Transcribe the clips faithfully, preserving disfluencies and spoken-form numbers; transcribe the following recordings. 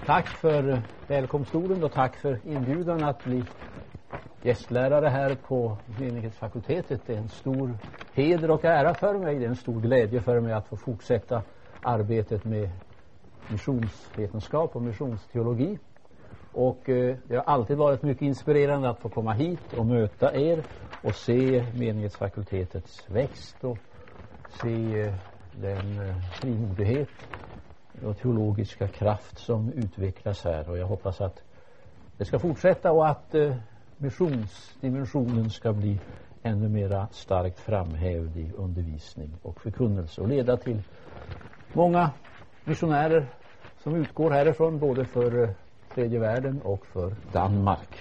Tack för välkomstorden och tack för inbjudan att bli gästlärare här på menighetsfakultetet. Det är en stor heder och ära för mig. Det är en stor glädje för mig att få fortsätta arbetet med missionsvetenskap och missionsteologi. Och eh, det har alltid varit mycket inspirerande att få komma hit och möta er och se menighetsfakultetets växt och se eh, den eh, frimodighet och teologiska kraft som utvecklas här. Och jag hoppas att det ska fortsätta och att eh, missionsdimensionen ska bli ännu mera starkt framhävd i undervisning och förkunnelse och leda till många missionärer som utgår härifrån både för eh, tredje världen och för Danmark.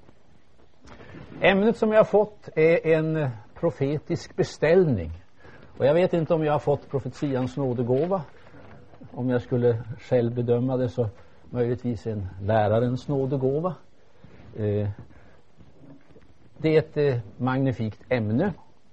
Ämnet som jag har fått är en profetisk beställning. Och jag vet inte om jag har fått profetians nådegåva. Om jag skulle själv bedöma det så möjligtvis en lärarens nådegåva. Eh, det är ett eh, magnifikt ämne.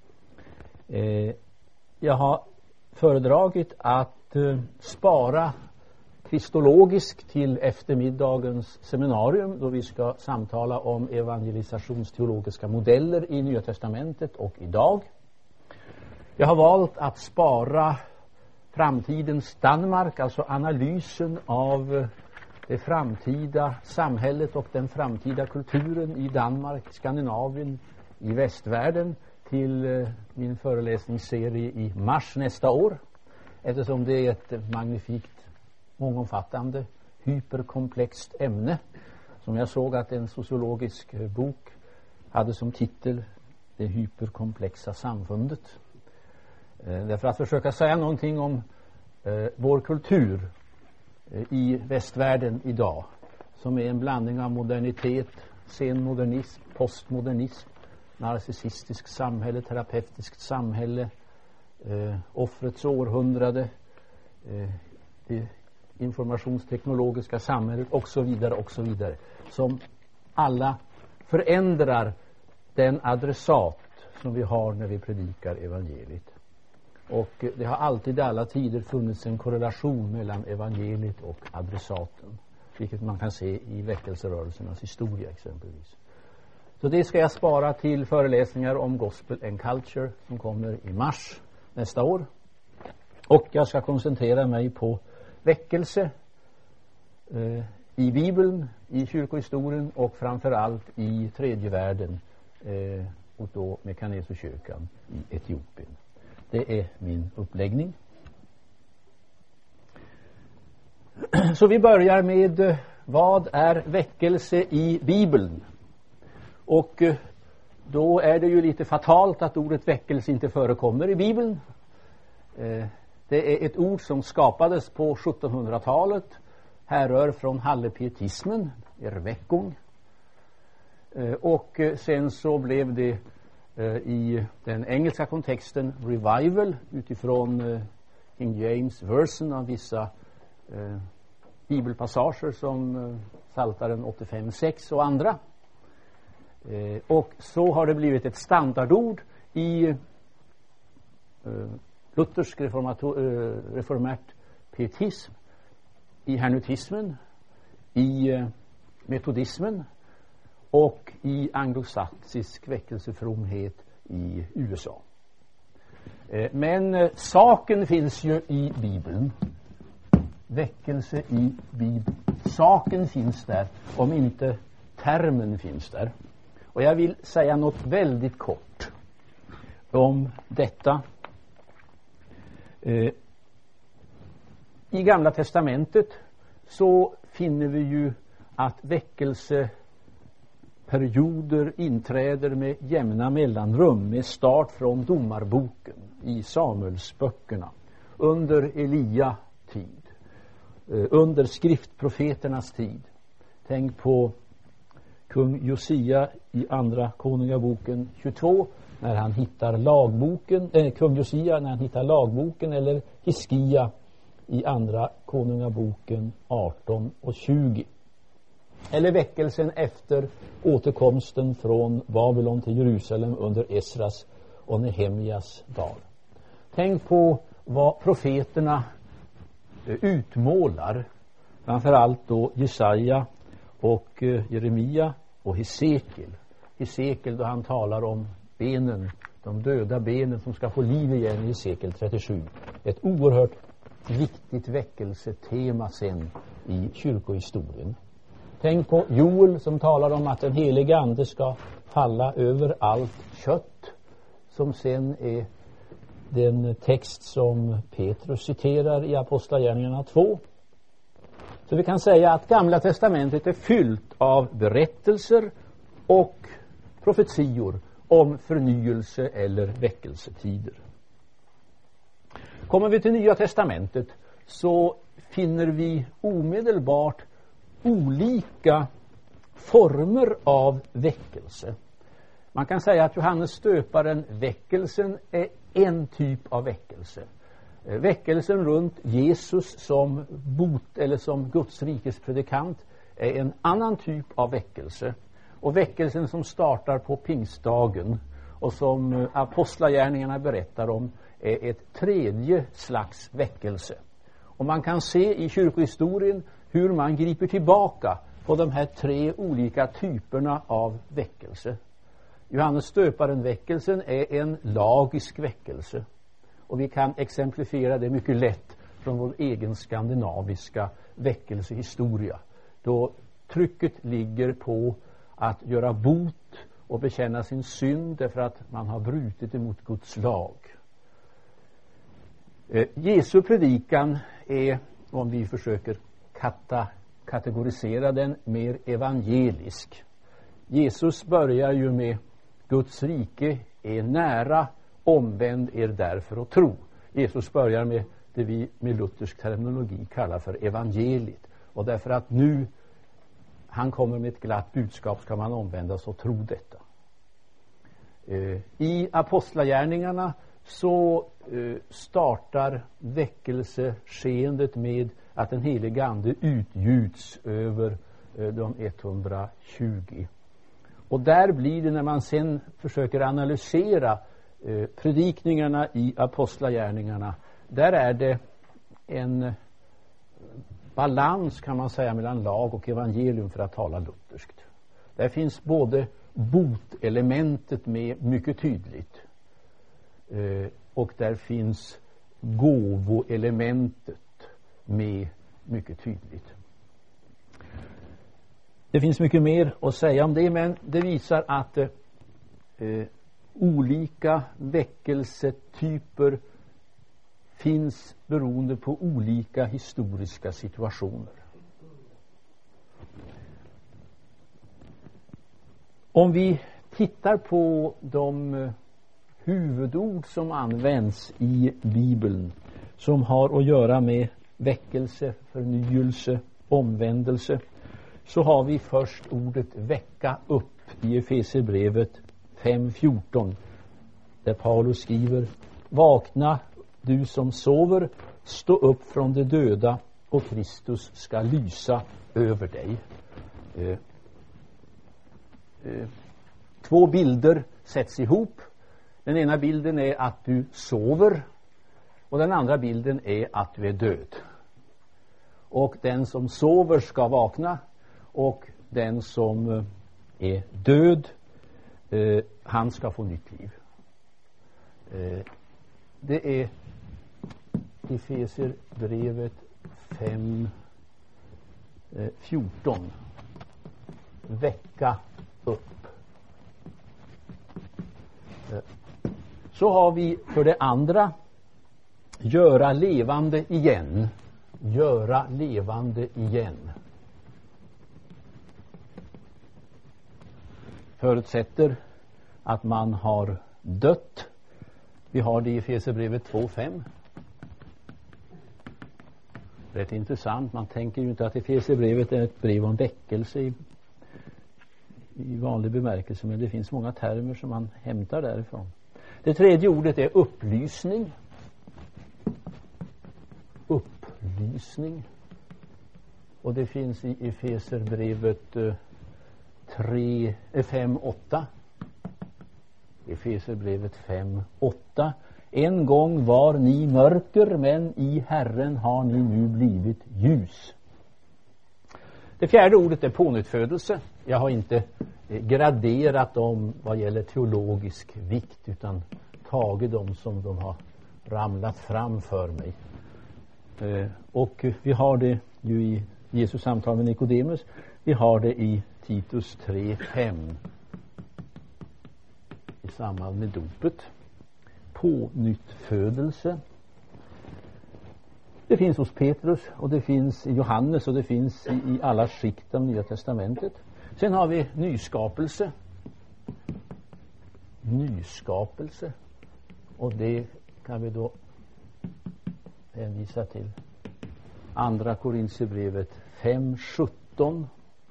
Eh, jag har föredragit att eh, spara kristologiskt till eftermiddagens seminarium då vi ska samtala om evangelisationsteologiska modeller i Nya testamentet och idag. Jag har valt att spara framtidens Danmark, alltså analysen av det framtida samhället och den framtida kulturen i Danmark, Skandinavien, i västvärlden till min föreläsningsserie i mars nästa år, eftersom det är ett magnifikt mångomfattande, hyperkomplext ämne som jag såg att en sociologisk bok hade som titel Det hyperkomplexa samfundet. Eh, därför att försöka säga någonting om eh, vår kultur eh, i västvärlden idag som är en blandning av modernitet, senmodernism, postmodernism, narcissistiskt samhälle, terapeutiskt samhälle, eh, offrets århundrade, eh, det informationsteknologiska samhället och så vidare och så vidare, som alla förändrar den adressat som vi har när vi predikar evangeliet. Och det har alltid i alla tider funnits en korrelation mellan evangeliet och adressaten, vilket man kan se i väckelserörelsernas historia exempelvis. Så det ska jag spara till föreläsningar om Gospel and Culture som kommer i mars nästa år. Och jag ska koncentrera mig på väckelse eh, i Bibeln, i kyrkohistorien och framförallt i tredje världen eh, och då Mekanesekyrkan i Etiopien. Det är min uppläggning. Så vi börjar med eh, vad är väckelse i Bibeln? Och eh, då är det ju lite fatalt att ordet väckelse inte förekommer i Bibeln. Eh, Det är ett ord som skapades på sjuttonhundratalet, härrör från hallepietismen, erweckung. Och sen så blev det i den engelska kontexten revival utifrån King James version av vissa bibelpassager som Psaltaren åttiofem sex och andra. Och så har det blivit ett standardord i luthersk reformärt pietism, i hernutismen, i metodismen och i anglosaxisk väckelsefromhet i U S A. Men saken finns ju i Bibeln. Väckelse i Bibeln. Saken finns där, om inte termen finns där. Och jag vill säga något väldigt kort om detta. Eh, I Gamla testamentet så finner vi ju att väckelseperioder inträder med jämna mellanrum med start från domarboken i Samuelsböckerna under Elia tid, eh, under skriftprofeternas tid. Tänk på kung Josia i andra konungaboken tjugotvå när han hittar lagboken, eh, kung Josia när han hittar lagboken, eller Hiskia i andra konungaboken arton och tjugo. Eller väckelsen efter återkomsten från Babylon till Jerusalem under Esras och Nehemjas dag. Tänk på vad profeterna utmålar Framförallt då Jesaja och eh, Jeremia och Hesekiel. Hesekiel då han talar om benen, de döda benen som ska få liv igen i Hesekiel trettiosju. Ett oerhört viktigt väckelsetema sen i kyrkohistorien. Tänk på Joel som talar om att den helige ande ska falla över allt kött, som sen är den text som Petrus citerar i Apostlagärningarna två. Så vi kan säga att Gamla testamentet är fyllt av berättelser och profetior om förnyelse eller väckelsetider. Kommer vi till Nya testamentet så finner vi omedelbart olika former av väckelse. Man kan säga att Johannes Stöparen, väckelsen, är en typ av väckelse. Väckelsen runt Jesus som bot eller som Guds rikes predikant är en annan typ av väckelse. Och väckelsen som startar på pingstdagen och som apostlagärningarna berättar om är ett tredje slags väckelse. Och man kan se i kyrkohistorien hur man griper tillbaka på de här tre olika typerna av väckelse. Johannes Stöparen-väckelsen är en lagisk väckelse. Och vi kan exemplifiera det mycket lätt från vår egen skandinaviska väckelsehistoria. Då trycket ligger på att göra bot och bekänna sin synd därför att man har brutit emot Guds lag. Eh, Jesu predikan är, om vi försöker kata, kategorisera den, mer evangelisk. Jesus börjar ju med Guds rike är nära, omvänd er därför och tro. Jesus börjar med det vi med luthersk terminologi kallar för evangeliet. Och därför att nu han kommer med ett glatt budskap ska man omvändas och tro detta. Eh, I apostlagärningarna så eh, startar väckelseskeendet med att den helige ande utgjuts över eh, de etthundratjugo. Och där blir det, när man sen försöker analysera eh, predikningarna i apostlagärningarna, där är det en balans kan man säga mellan lag och evangelium för att tala lutherskt. Där finns både botelementet med mycket tydligt eh, och där finns gåvoelementet med mycket tydligt. Det finns mycket mer att säga om det, men det visar att eh, olika väckelsetyper finns beroende på olika historiska situationer. Om vi tittar på de huvudord som används i Bibeln som har att göra med väckelse, förnyelse, omvändelse, så har vi först ordet väcka upp i Efesierbrevet fem fjorton, där Paulus skriver: vakna du som sover, stå upp från de döda och Kristus ska lysa över dig. Eh, eh, två bilder sätts ihop. Den ena bilden är att du sover och den andra bilden är att du är död. Och den som sover ska vakna och den som är död, eh, han ska få nytt liv. Eh, det är Efesierbrevet fem fjorton. Väcka upp. Så har vi för det andra göra levande igen. Göra levande igen. Förutsätter att man har dött. Vi har det i Efesierbrevet två fem. Rätt intressant. Man tänker ju inte att Efesierbrevet är ett brev om väckelse i, i vanlig bemärkelse, men det finns många termer som man hämtar därifrån. Det tredje ordet är upplysning. Upplysning. Och det finns i Efesierbrevet fem åtta. Efesierbrevet fem åtta. En gång var ni mörker, men i Herren har ni nu blivit ljus. Det fjärde ordet är pånyttfödelse. Jag har inte graderat dem vad gäller teologisk vikt, utan tagit dem som de har ramlat fram för mig. Eh, och vi har det ju i Jesus samtal med Nikodemus. Vi har det i Titus tre fem i samband med dopet. Pånyttfödelse. Det finns hos Petrus och det finns i Johannes och det finns i, i alla skikt av Nya testamentet. Sen har vi nyskapelse. Nyskapelse. Och det kan vi då hänvisa till Andra Korinthierbrevet fem sjutton.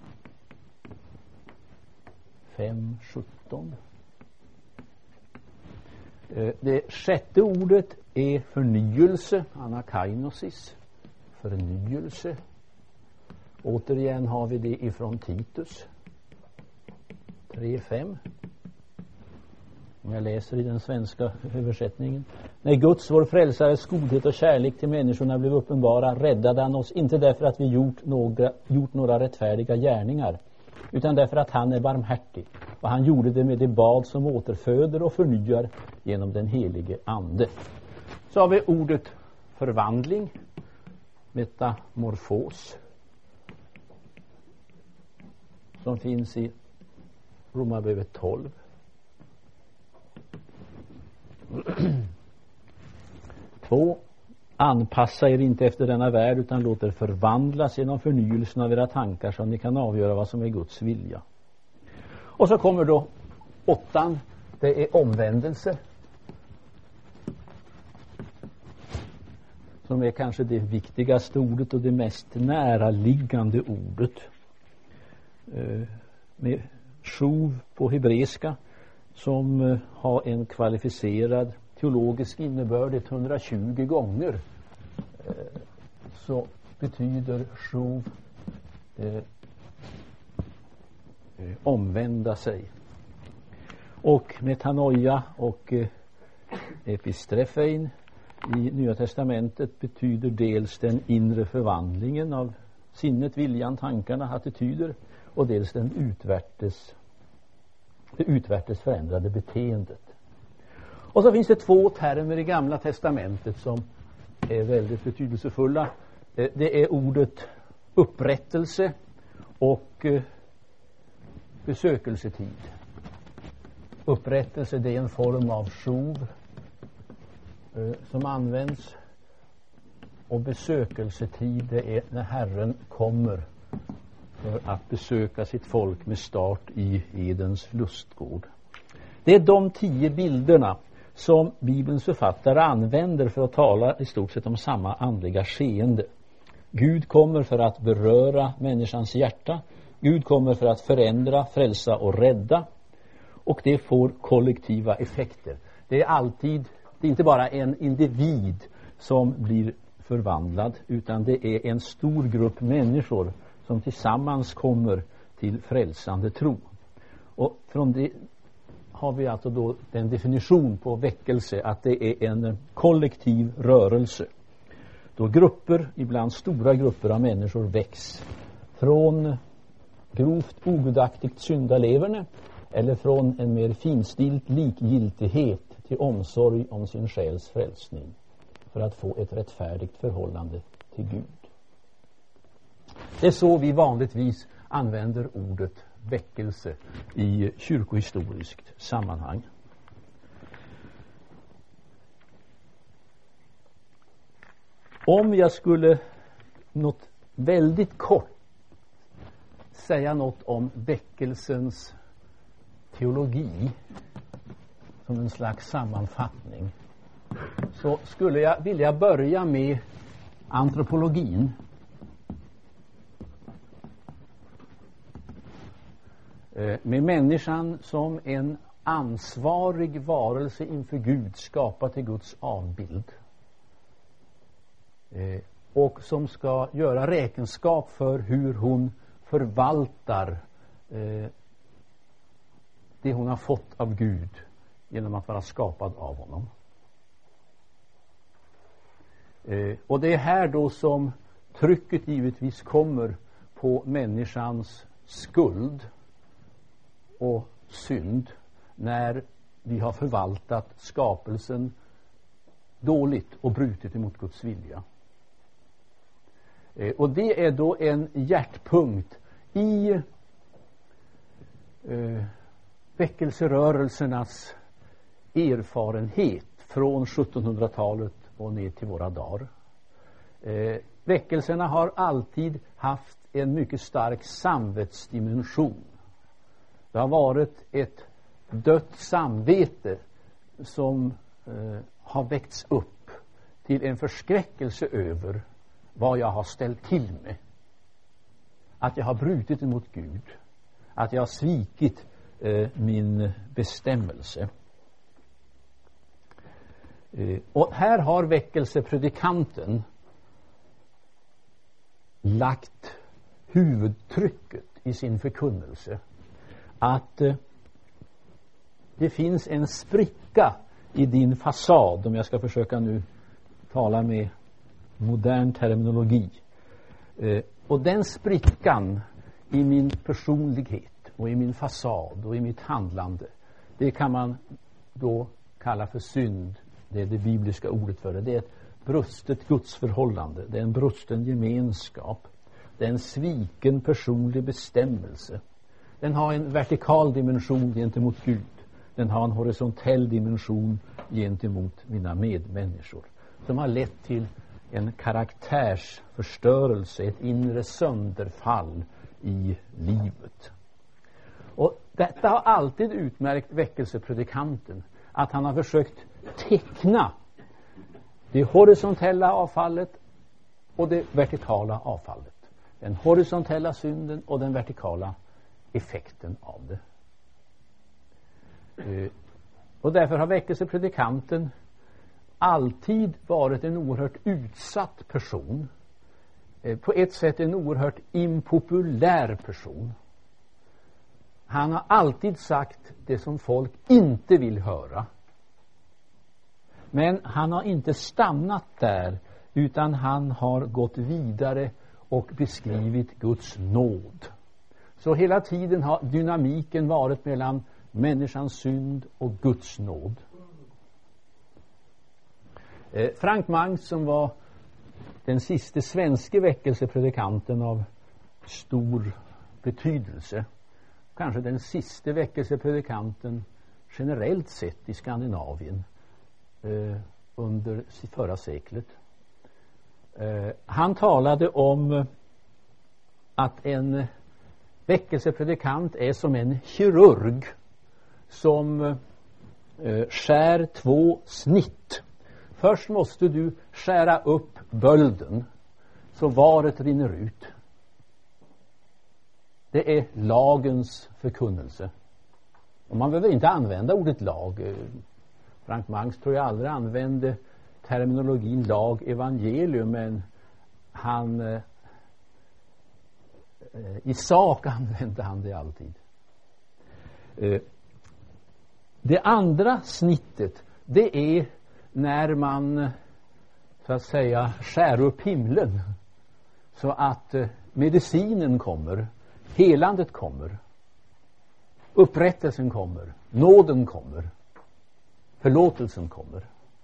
fem sjutton. Det sjätte ordet är förnyelse, anakainosis, förnyelse. Återigen har vi det ifrån Titus tre fem. Om jag läser i den svenska översättningen. När Guds, vår frälsares godhet och kärlek till människorna blev uppenbara, räddade han oss inte därför att vi gjort några, gjort några rättfärdiga gärningar, utan därför att han är barmhärtig. Och han gjorde det med det bad som återföder och förnyar genom den helige ande. Så har vi ordet förvandling, metamorfos, som finns i Romarbrevet tolv. Två. Anpassa er inte efter denna värld, utan låt er förvandlas genom förnyelsen av era tankar, så att ni kan avgöra vad som är Guds vilja. Och så kommer då åttan. Det är omvändelse, som är kanske det viktigaste ordet och det mest näraliggande ordet. Eh, med shuv på hebreiska, som eh, har en kvalificerad teologisk innebörd etthundratjugo gånger, eh, så betyder shuv eh, eh, omvända sig. Och metanoia och eh, epistrefein i Nya testamentet betyder dels den inre förvandlingen av sinnet, viljan, tankarna, attityder, och dels den utvärtes, det utvärtes förändrade beteendet. Och så finns det två termer i Gamla testamentet som är väldigt betydelsefulla. Det är ordet upprättelse och besökelsetid. Upprättelse, det är en form av shuv som används, och besökelsetid, det är när Herren kommer för att besöka sitt folk med start i Edens lustgård. Det är de tio bilderna som Bibelns författare använder för att tala i stort sett om samma andliga skeende. Gud kommer för att beröra människans hjärta. Gud kommer för att förändra, frälsa och rädda. Och det får kollektiva effekter. Det är alltid, det är inte bara en individ som blir förvandlad, utan det är en stor grupp människor som tillsammans kommer till frälsande tro. Och från det har vi alltså då den definition på väckelse, att det är en kollektiv rörelse. Då grupper, ibland stora grupper av människor, väcks från grovt ogudaktigt syndaleverne eller från en mer finstilt likgiltighet till omsorg om sin själs frälsning för att få ett rättfärdigt förhållande till Gud. Det är så vi vanligtvis använder ordet väckelse i kyrkohistoriskt sammanhang. Om jag skulle något väldigt kort säga något om väckelsens teologi som en slags sammanfattning, så skulle jag vilja börja med antropologin. Med människan som en ansvarig varelse inför Gud, skapad till Guds avbild, och som ska göra räkenskap för hur hon förvaltar det hon har fått av Gud genom att vara skapad av honom. Och det är här då som trycket givetvis kommer på människans skuld och synd när vi har förvaltat skapelsen dåligt och brutit emot Guds vilja. Eh, och det är då en hjärtpunkt i eh, väckelserörelsernas erfarenhet från sjuttonhundratalet och ner till våra dagar. Eh, väckelserna har alltid haft en mycket stark samvetsdimension. Det har varit ett dött samvete som eh, har väckts upp till en förskräckelse över vad jag har ställt till med. Att jag har brutit emot Gud. Att jag har svikit eh, min bestämmelse. Eh, och här har väckelsepredikanten lagt huvudtrycket i sin förkunnelse. Att eh, det finns en spricka i din fasad, om jag ska försöka nu tala med modern terminologi. Eh, och den sprickan i min personlighet och i min fasad och i mitt handlande, det kan man då kalla för synd. Det är det bibliska ordet för det. Det är ett brustet gudsförhållande. Det är en brusten gemenskap. Det är en sviken personlig bestämmelse. Den har en vertikal dimension gentemot Gud. Den har en horisontell dimension gentemot mina medmänniskor. Som har lett till en karaktärsförstörelse, ett inre sönderfall i livet. Och detta har alltid utmärkt väckelsepredikanten. Att han har försökt teckna det horisontella avfallet och det vertikala avfallet. Den horisontella synden och den vertikala effekten av det. Uh, och därför har väckelsepredikanten alltid varit en oerhört utsatt person. Uh, på ett sätt en oerhört impopulär person. Han har alltid sagt det som folk inte vill höra. Men han har inte stannat där, utan han har gått vidare och beskrivit Guds nåd. Så hela tiden har dynamiken varit mellan människans synd och Guds nåd. Eh, Frank Mangs, som var den sista svenska väckelsepredikanten av stor betydelse, kanske den sista väckelsepredikanten generellt sett i Skandinavien eh, under förra seklet. Eh, han talade om att en väckelsepredikant är som en kirurg som eh, skär två snitt. Först måste du skära upp bölden så varet rinner ut. Det är lagens förkunnelse. Och man behöver inte använda ordet lag. Frank Mangs tror jag aldrig använde terminologin lag evangelium, men han eh, i sak använde han det alltid. Eh, det andra snittet, det är när man så att säga skär upp himlen så att eh, medicinen kommer, helandet kommer, upprättelsen kommer, nåden kommer, förlåtelsen kommer.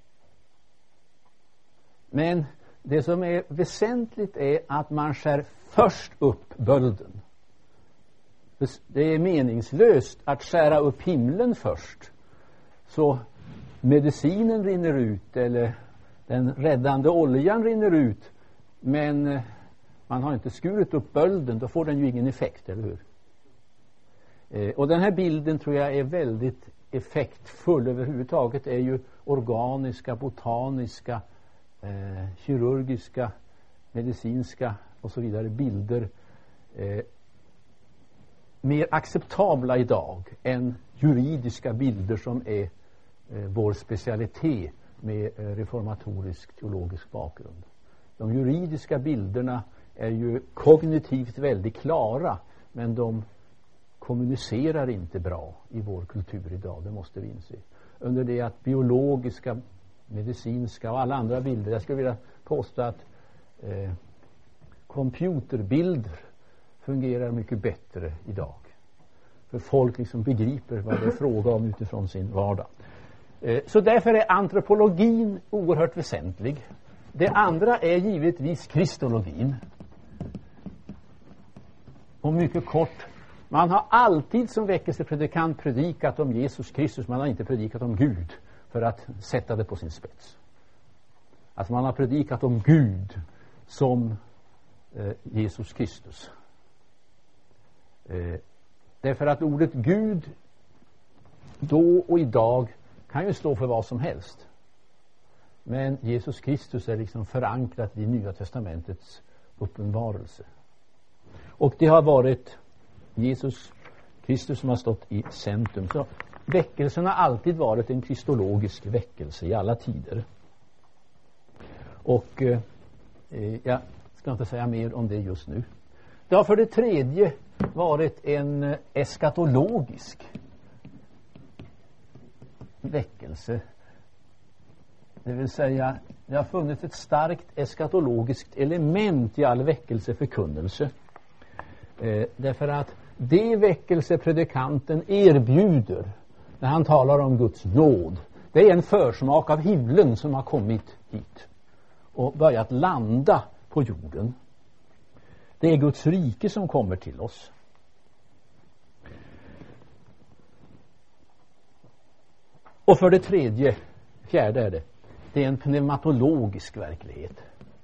Men det som är väsentligt är att man skär först upp bölden. Det är meningslöst att skära upp himlen först, så medicinen rinner ut eller den räddande oljan rinner ut, men man har inte skurit upp bölden, då får den ju ingen effekt, eller hur? Eh, och den här bilden tror jag är väldigt effektfull överhuvudtaget. Är ju organiska, botaniska, eh, kirurgiska, medicinska och så vidare bilder eh, mer acceptabla idag än juridiska bilder som är eh, vår specialitet med eh, reformatorisk teologisk bakgrund. De juridiska bilderna är ju kognitivt väldigt klara, men de kommunicerar inte bra i vår kultur idag, det måste vi inse. Under det att biologiska, medicinska och alla andra bilder, jag skulle vilja påstå att eh, computerbilder fungerar mycket bättre idag. För folk liksom begriper vad det är fråga om utifrån sin vardag. Eh, så därför är antropologin oerhört väsentlig. Det andra är givetvis kristologin. Och mycket kort, man har alltid som väckelsepredikant predikat om Jesus Kristus, man har inte predikat om Gud för att sätta det på sin spets. Alltså man har predikat om Gud som eh, Jesus Kristus. Eh, därför att ordet Gud då och idag kan ju stå för vad som helst. Men Jesus Kristus är liksom förankrat i Nya testamentets uppenbarelse. Och det har varit Jesus Kristus som har stått i centrum. Så väckelsen har alltid varit en kristologisk väckelse i alla tider. Och eh, jag ska inte säga mer om det just nu. Det har för det tredje varit en eskatologisk väckelse. Det vill säga, det har funnits ett starkt eskatologiskt element i all väckelseförkunnelse. Eh, därför att det väckelsepredikanten erbjuder när han talar om Guds nåd, det är en försmak av himlen som har kommit hit och börjat landa på jorden. Det är Guds rike som kommer till oss. Och för det tredje, fjärde är det, det är en pneumatologisk verklighet.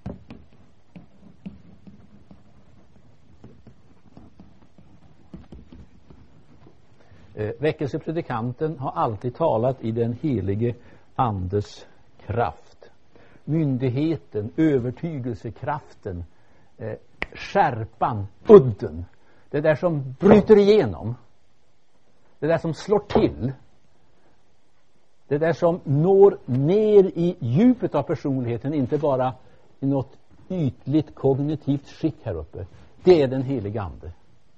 Eh, väckelsepredikanten har alltid talat i den helige andes kraft. Myndigheten, övertygelsekraften, eh, skärpan, udden. Det där som bryter igenom. Det där som slår till. Det där som når ner i djupet av personligheten, inte bara i något ytligt kognitivt skick här uppe. Det är den helige ande.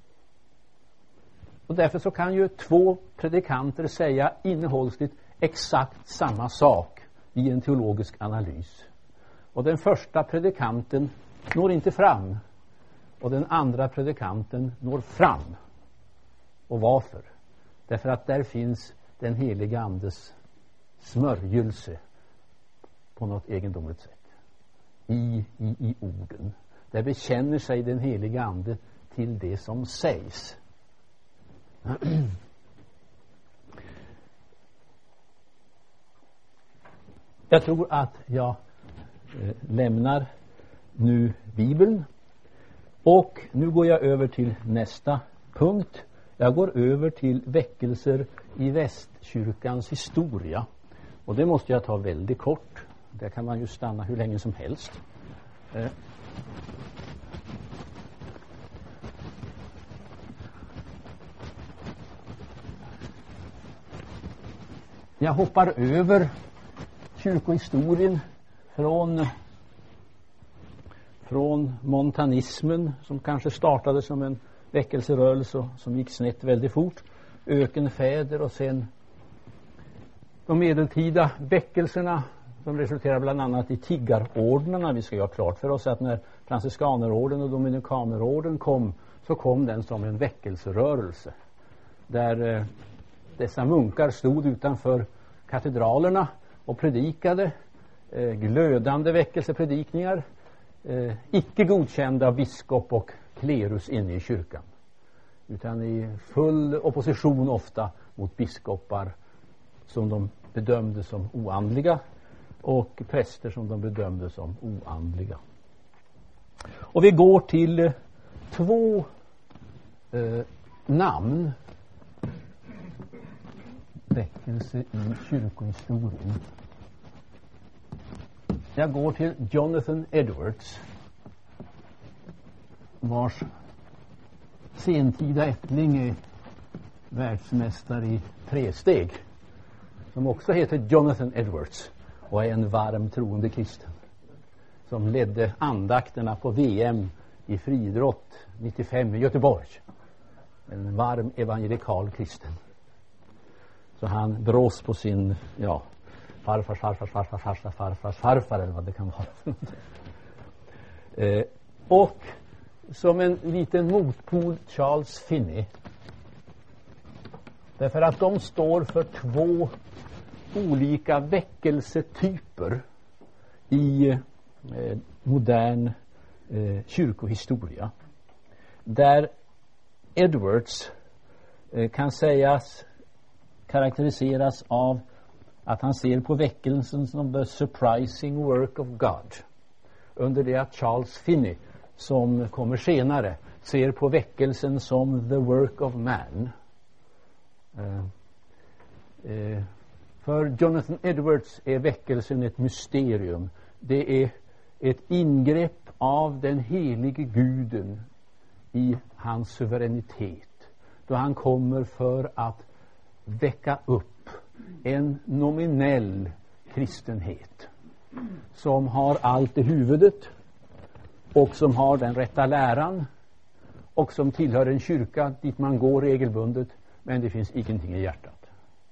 Och därför så kan ju två predikanter säga innehållsligt exakt samma sak i en teologisk analys. Och den första predikanten når inte fram. Och den andra predikanten når fram. Och varför? Därför att där finns den helige andes smörjelse på något egendomligt sätt. I, i, i orden. Där bekänner sig den helige ande till det som sägs. Jag tror att jag eh, lämnar nu Bibeln. Och nu går jag över till nästa punkt. Jag går över till väckelser i västkyrkans historia. Och det måste jag ta väldigt kort. Där kan man ju stanna hur länge som helst. Eh. Jag hoppar över kyrkohistorien från, från montanismen som kanske startade som en väckelserörelse och som gick snett väldigt fort. Ökenfäder och sen de medeltida väckelserna som resulterar bland annat i tiggarordnarna. Vi ska ju ha klart för oss att när franciskanerorden och dominikanerorden kom så kom den som en väckelserörelse. Där eh, dessa munkar stod utanför katedralerna och predikade eh, glödande väckelsepredikningar, eh, icke godkända av biskop och klerus inne i kyrkan, utan i full opposition ofta mot biskopar som de bedömde som oandliga och präster som de bedömde som oandliga. Och vi går till eh, två eh, namn väckelse i kyrkohistorien. Jag går till Jonathan Edwards, vars sentida ättling är världsmästare i tresteg, som också heter Jonathan Edwards och är en varm troende kristen som ledde andakterna på V M i friidrott nittiofem i Göteborg. En varm evangelikal kristen. Så han brås på sin, ja, farfars, farfars, farfars, farfars, farfars, farfar eller vad det kan vara. eh, och som en liten motpol Charles Finney. Därför att de står för två olika väckelsetyper i eh, modern eh, kyrkohistoria. Där Edwards eh, kan sägas karaktäriseras av att han ser på väckelsen som the surprising work of God. Under det att Charles Finney, som kommer senare, ser på väckelsen som the work of man. Uh, uh, för Jonathan Edwards är väckelsen ett mysterium. Det är ett ingrepp av den helige guden i hans suveränitet, då han kommer för att väcka upp en nominell kristenhet som har allt i huvudet och som har den rätta läran och som tillhör en kyrka dit man går regelbundet, men det finns ingenting i hjärtat.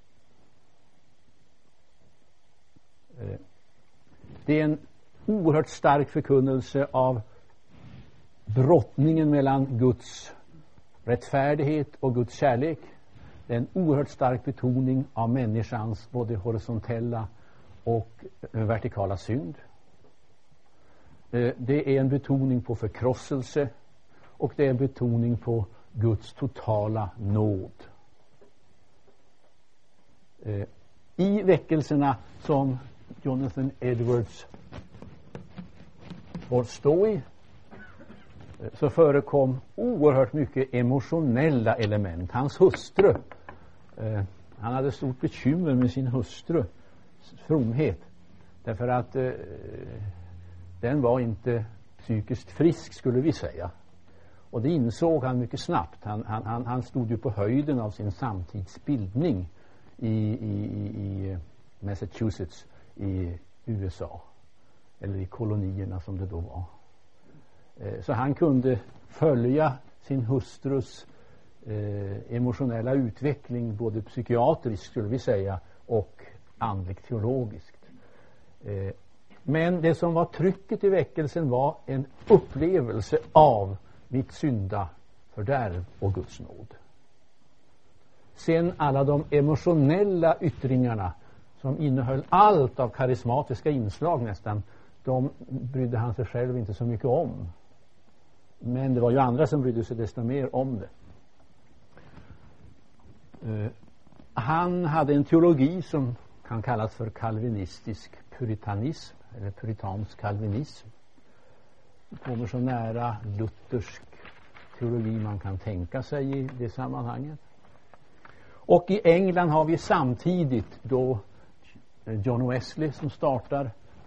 Det är en oerhört stark förkunnelse av brottningen mellan Guds rättfärdighet och Guds kärlek. Det är en oerhört stark betoning av människans både horisontella och vertikala synd. Det är en betoning på förkrosselse och det är en betoning på Guds totala nåd. I väckelserna som Jonathan Edwards får stå i så förekom oerhört mycket emotionella element. Hans hustru, eh, han hade stort bekymmer med sin hustru fromhet, därför att eh, den var inte psykiskt frisk, skulle vi säga. Och det insåg han mycket snabbt. Han, han, han, han stod ju på höjden av sin samtidsbildning i, i, i Massachusetts i U S A, eller i kolonierna som det då var. Så han kunde följa sin hustrus eh, emotionella utveckling både psykiatriskt, skulle vi säga, och andligt teologiskt. Eh, men det som var trycket i väckelsen var en upplevelse av mitt synda fördärv och Guds nåd. Sen alla de emotionella yttringarna som innehöll allt av karismatiska inslag nästan, de brydde han sig själv inte så mycket om. Men det var ju andra som brydde sig desto mer om det. Uh, han hade en teologi som kan kallas för kalvinistisk puritanism, eller puritansk kalvinism. Det kommer så nära luthersk teologi man kan tänka sig i det sammanhanget. Och i England har vi samtidigt då John Wesley som startar.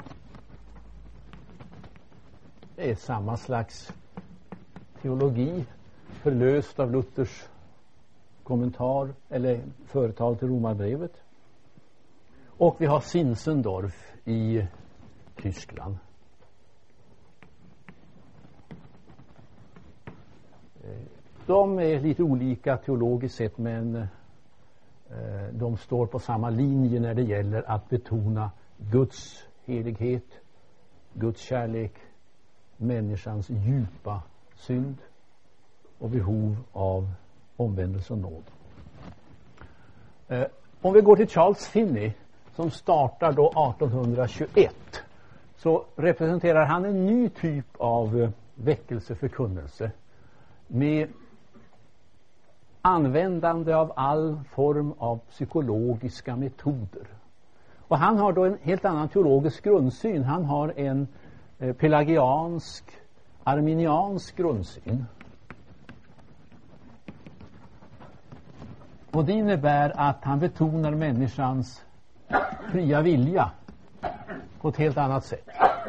Det är samma slags teologi, förlöst av Luthers kommentar eller företal till Romarbrevet. Och vi har Zinzendorf i Tyskland. De är lite olika teologiskt sett, men eh, de står på samma linje när det gäller att betona Guds helighet, Guds kärlek, människans djupa synd och behov av omvändelse och nåd. Eh, om vi går till Charles Finney som startar då arton tjugoett, så representerar han en ny typ av eh, väckelseförkunnelse med användande av all form av psykologiska metoder. Och han har då en helt annan teologisk grundsyn. Han har en eh, pelagiansk, arminiansk grundsyn. Och det innebär att han betonar människans fria vilja på ett helt annat sätt.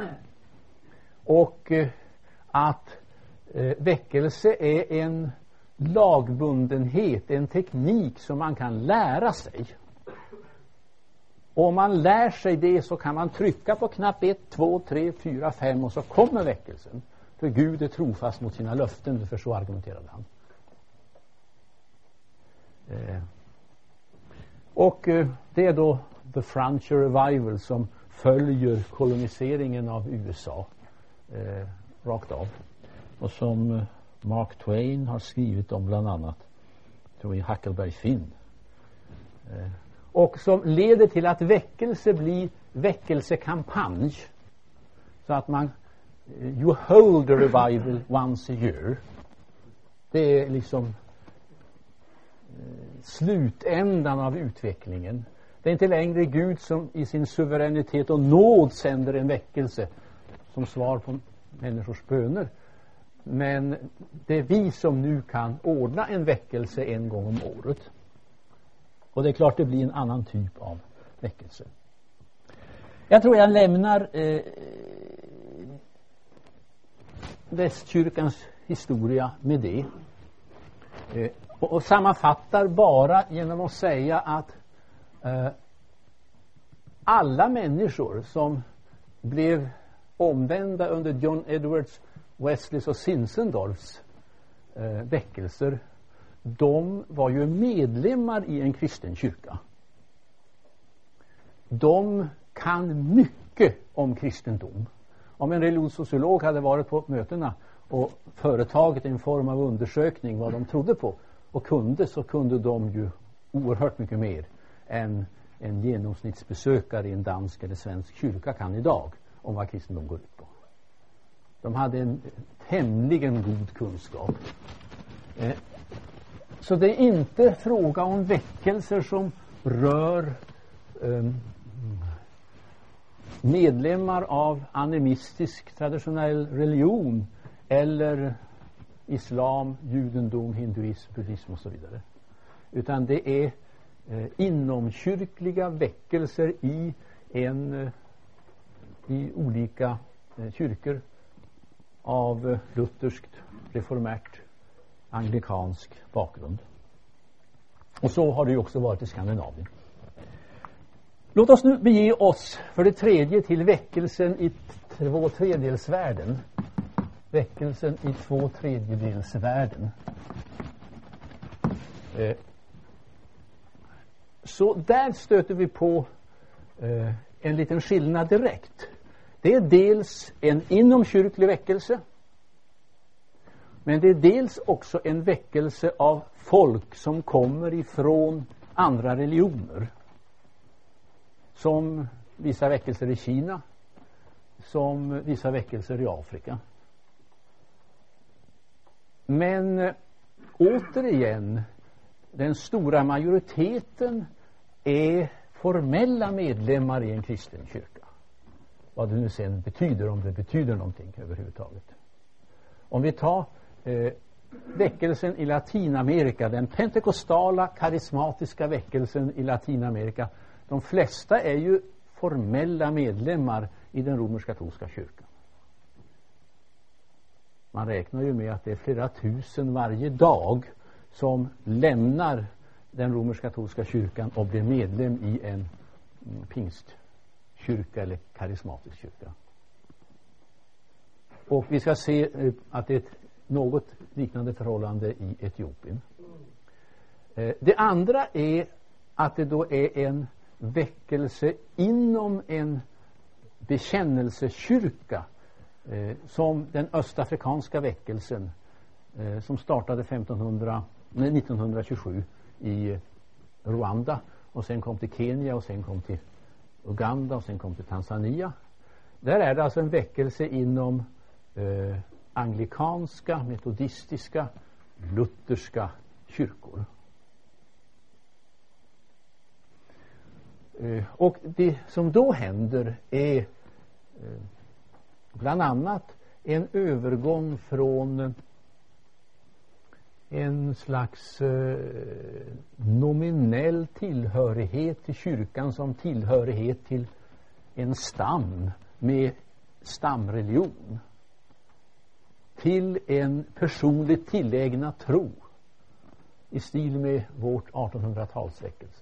Och eh, att eh, väckelse är en lagbundenhet, en teknik som man kan lära sig. Och om man lär sig det så kan man trycka på knapp ett, två, tre, fyra, fem och så kommer väckelsen. För Gud är trofast mot sina löften, för så argumenterade han. Eh. Och eh, det är då The Frontier Revival som följer koloniseringen av U S A eh, rakt av. och som Mark Twain har skrivit om bland annat, tror jag, Huckleberry Finn. Eh, och som leder till att väckelse blir väckelsekampanj. Så att man, you hold a revival once a year. Det är liksom eh, slutändan av utvecklingen. Det är inte längre Gud som i sin suveränitet och nåd sänder en väckelse som svar på människors böner. Men det är vi som nu kan ordna en väckelse en gång om året. Och det är klart det blir en annan typ av väckelse. Jag tror jag lämnar eh, västkyrkans historia med det. Eh, och, och sammanfattar bara genom att säga att eh, alla människor som blev omvända under John Edwards, Wesleys och Zinzendorfs eh, väckelser, de var ju medlemmar i en kristen kyrka. De kan mycket om kristendom. Om en religionssociolog hade varit på mötena och företagit en form av undersökning vad de trodde på och kunde, så kunde de ju oerhört mycket mer än en genomsnittsbesökare i en dansk eller svensk kyrka kan idag om vad kristendom går ut på. De hade en tämligen god kunskap. Eh, så det är inte fråga om väckelser som rör eh, medlemmar av animistisk traditionell religion eller islam, judendom, hinduism, buddhism och så vidare. Utan det är eh, inomkyrkliga väckelser i en eh, i olika eh, kyrkor av eh, lutherskt, reformärt, anglikansk bakgrund. Och så har det ju också varit i Skandinavien. Låt oss nu bege oss för det tredje till väckelsen i två tredjedelsvärlden. Väckelsen i två tredjedelsvärlden. Eh, så där stöter vi på eh, en liten skillnad direkt. Det är dels en inomkyrklig väckelse, men det är dels också en väckelse av folk som kommer ifrån andra religioner. Som vissa väckelser i Kina, som vissa väckelser i Afrika. Men äh, återigen, den stora majoriteten är formella medlemmar i en kristen kyrka. Vad det nu sen betyder, om det betyder någonting överhuvudtaget. Om vi tar eh, väckelsen i Latinamerika, den pentekostala karismatiska väckelsen i Latinamerika. De flesta är ju formella medlemmar i den romersk-katolska kyrkan. Man räknar ju med att det är flera tusen varje dag som lämnar den romersk-katolska kyrkan och blir medlem i en mm, pingstkyrka eller karismatisk kyrka. Och vi ska se eh, att det är ett något liknande förhållande i Etiopien. Eh, det andra är att det då är en väckelse inom en bekännelsekyrka eh, som den östafrikanska väckelsen eh, som startade femtonhundra, nej, nittonhundratjugosju i Rwanda och sen kom till Kenya och sen kom till Uganda och sen kom till Tanzania. Där är det alltså en väckelse inom eh, anglikanska, metodistiska, lutherska kyrkor. Uh, och det som då händer är uh, bland annat en övergång från uh, en slags uh, nominell tillhörighet till kyrkan som tillhörighet till en stam med stamreligion till en personligt tillägna tro i stil med vårt artonhundratalsväckelse.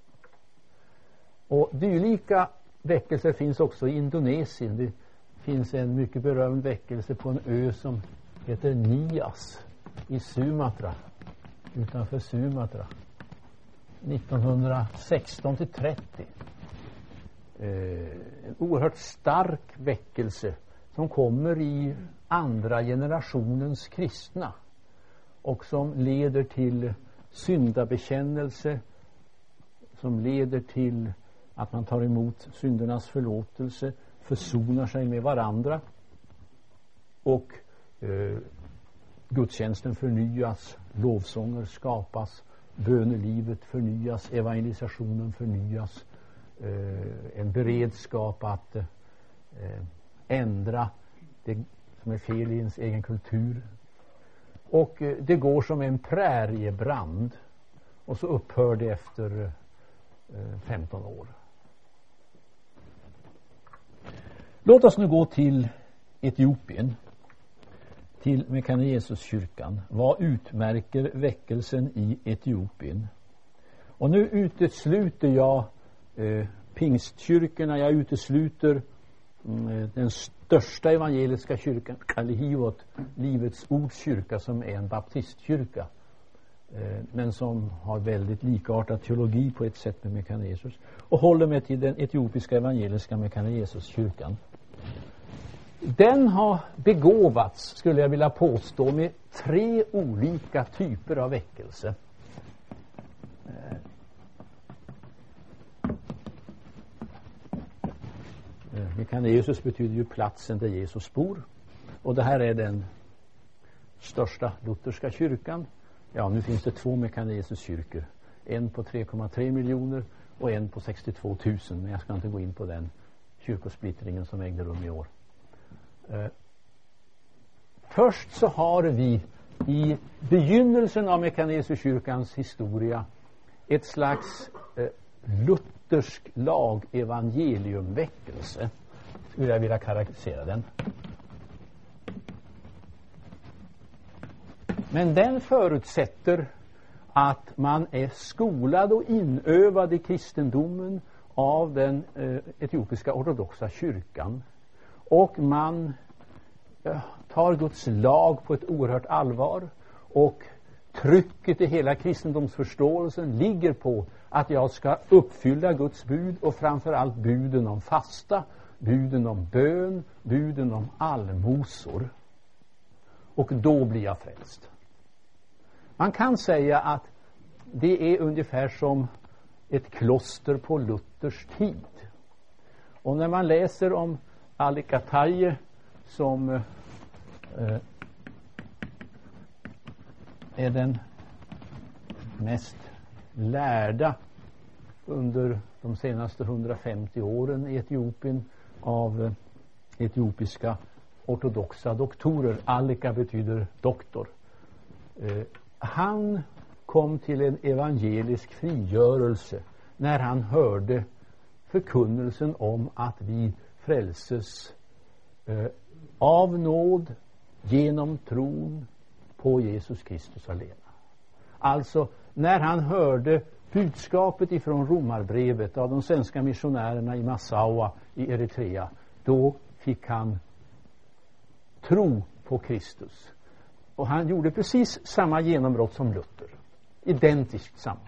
Och dylika väckelser finns också i Indonesien. Det finns en mycket berömd väckelse på en ö som heter Nias i Sumatra, utanför Sumatra, nittonhundrasexton till trettio. Eh, en oerhört stark väckelse som kommer i andra generationens kristna och som leder till syndabekännelse, som leder till att man tar emot syndernas förlåtelse, försonar sig med varandra och eh, gudstjänsten förnyas, lovsånger skapas, bönelivet förnyas, evangelisationen förnyas, eh, en beredskap att eh, ändra det som är fel i ens egen kultur. Och eh, det går som en präriebrand och så upphör det efter eh, femton år. Låt oss nu gå till Etiopien, till Mekane Jesus-kyrkan. Vad utmärker väckelsen i Etiopien? Och nu utesluter jag eh, pingstkyrkorna, jag utesluter mm, den största evangeliska kyrkan, Kalihivot, Livets Ords kyrka, som är en baptistkyrka, eh, men som har väldigt likartad teologi på ett sätt med Mekane Jesus, och håller mig till den etiopiska evangeliska Mekane Jesus-kyrkan. Den har begåvats, skulle jag vilja påstå, med tre olika typer av väckelse. Mekane Jesus betyder ju platsen där Jesus bor. Och det här är den största lutherska kyrkan. Ja, nu finns det två Mekane Jesus-kyrkor. En på tre komma tre miljoner och en på sextiotvå tusen. Men jag ska inte gå in på den kyrkosplittringen som ägde rum i år. Uh, först så har vi i begynnelsen av Mekane Jesus-kyrkans historia ett slags uh, luthersk lag-evangeliumväckelse, skulle jag vilja karaktärisera den. Men den förutsätter att man är skolad och inövad i kristendomen av den uh, etiopiska ortodoxa kyrkan. Och man äh, tar Guds lag på ett oerhört allvar, och trycket i hela kristendomsförståelsen ligger på att jag ska uppfylla Guds bud, och framförallt buden om fasta, buden om bön, buden om allmosor. Och då blir jag frälst. Man kan säga att det är ungefär som ett kloster på Luthers tid. Och när man läser om Alikataye, som eh, är den mest lärda under de senaste hundrafemtio åren i Etiopien av eh, etiopiska ortodoxa doktorer. Alika betyder doktor. Eh, han kom till en evangelisk frigörelse när han hörde förkunnelsen om att vi frälses eh, av nåd genom tron på Jesus Kristus alena. Alltså när han hörde budskapet ifrån Romarbrevet av de svenska missionärerna i Massawa i Eritrea, då fick han tro på Kristus. Och han gjorde precis samma genombrott som Luther. Identiskt samma.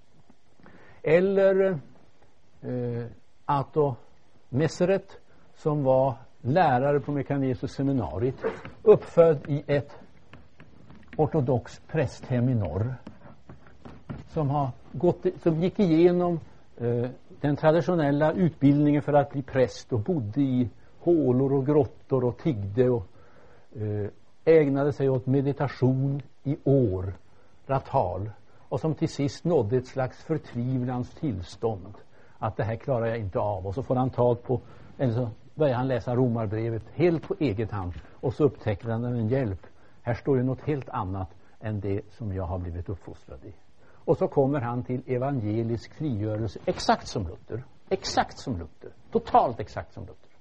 Eller eh, Atto Meseret, som var lärare på Mekane Jesus seminariet, uppfödd i ett ortodox prästhem i norr, som har gått, som gick igenom eh, den traditionella utbildningen för att bli präst och bodde i hålor och grottor och tiggde och eh, ägnade sig åt meditation i år, ratal, och som till sist nådde ett slags förtvivlans tillstånd, att det här klarar jag inte av, och så får han tag på, eller så börjar han läsa Romarbrevet helt på eget hand, och så upptäcker han en hjälp. Här står ju något helt annat än det som jag har blivit uppfostrad i. Och så kommer han till evangelisk frigörelse, exakt som Luther. Exakt som Luther. Totalt exakt som Luther.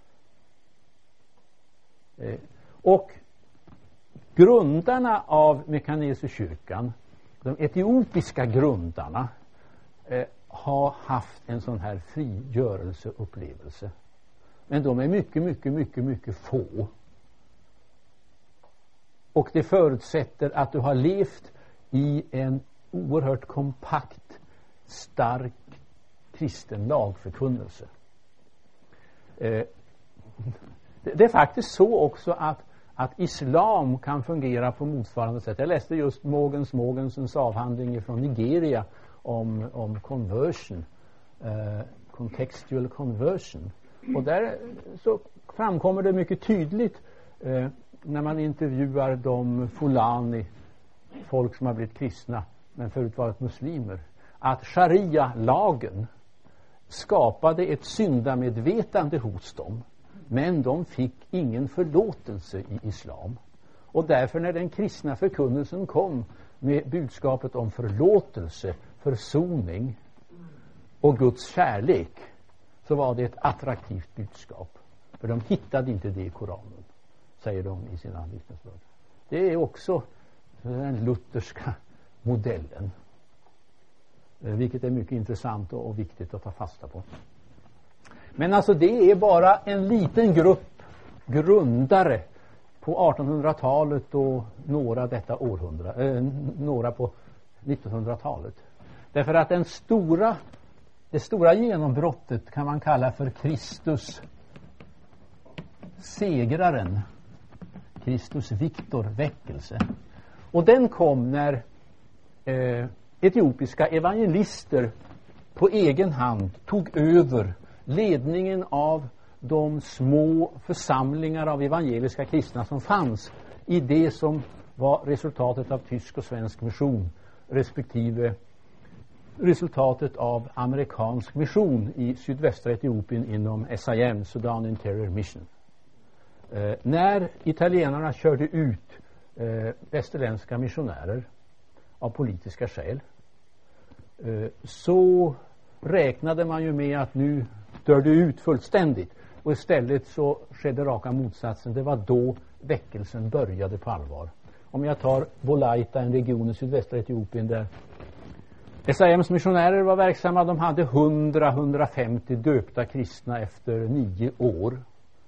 Eh, och grundarna av Mekane Jesus-kyrkan, de etiopiska grundarna, eh, har haft en sån här frigörelseupplevelse. Men de är mycket, mycket, mycket, mycket få. Och det förutsätter att du har levt i en oerhört kompakt, stark kristen lagförkunnelse. Eh, det, det är faktiskt så också att, att islam kan fungera på motsvarande sätt. Jag läste just Mogens Mogensens avhandling från Nigeria om, om conversion, eh, contextual conversion. Och där så framkommer det mycket tydligt eh, när man intervjuar de Fulani, folk som har blivit kristna men förut varit muslimer, att sharia-lagen skapade ett syndamedvetande hos dem, men de fick ingen förlåtelse i islam. Och därför när den kristna förkunnelsen kom med budskapet om förlåtelse, försoning och Guds kärlek, så var det ett attraktivt budskap. För de hittade inte det i Koranen, säger de i sina vittnesbörd. Det är också den lutherska modellen, vilket är mycket intressant och viktigt att ta fasta på. Men alltså det är bara en liten grupp grundare på artonhundratalet och några detta århundrade, eh, några på nittonhundratalet. Därför att den stora, det stora genombrottet kan man kalla för Kristus segraren, Kristus Victor väckelse. Och den kom när eh, etiopiska evangelister på egen hand tog över ledningen av de små församlingar av evangeliska kristna som fanns i det som var resultatet av tysk och svensk mission, respektive resultatet av amerikansk mission i sydvästra Etiopien inom S I M, Sudan Interior Mission. Eh, när italienarna körde ut eh, västerländska missionärer av politiska skäl, eh, så räknade man ju med att nu dör det ut fullständigt, och istället så skedde raka motsatsen. Det var då väckelsen började på allvar. Om jag tar Bolaita, en region i sydvästra Etiopien där S I M:s missionärer var verksamma, de hade hundra till hundrafemtio döpta kristna efter nio år.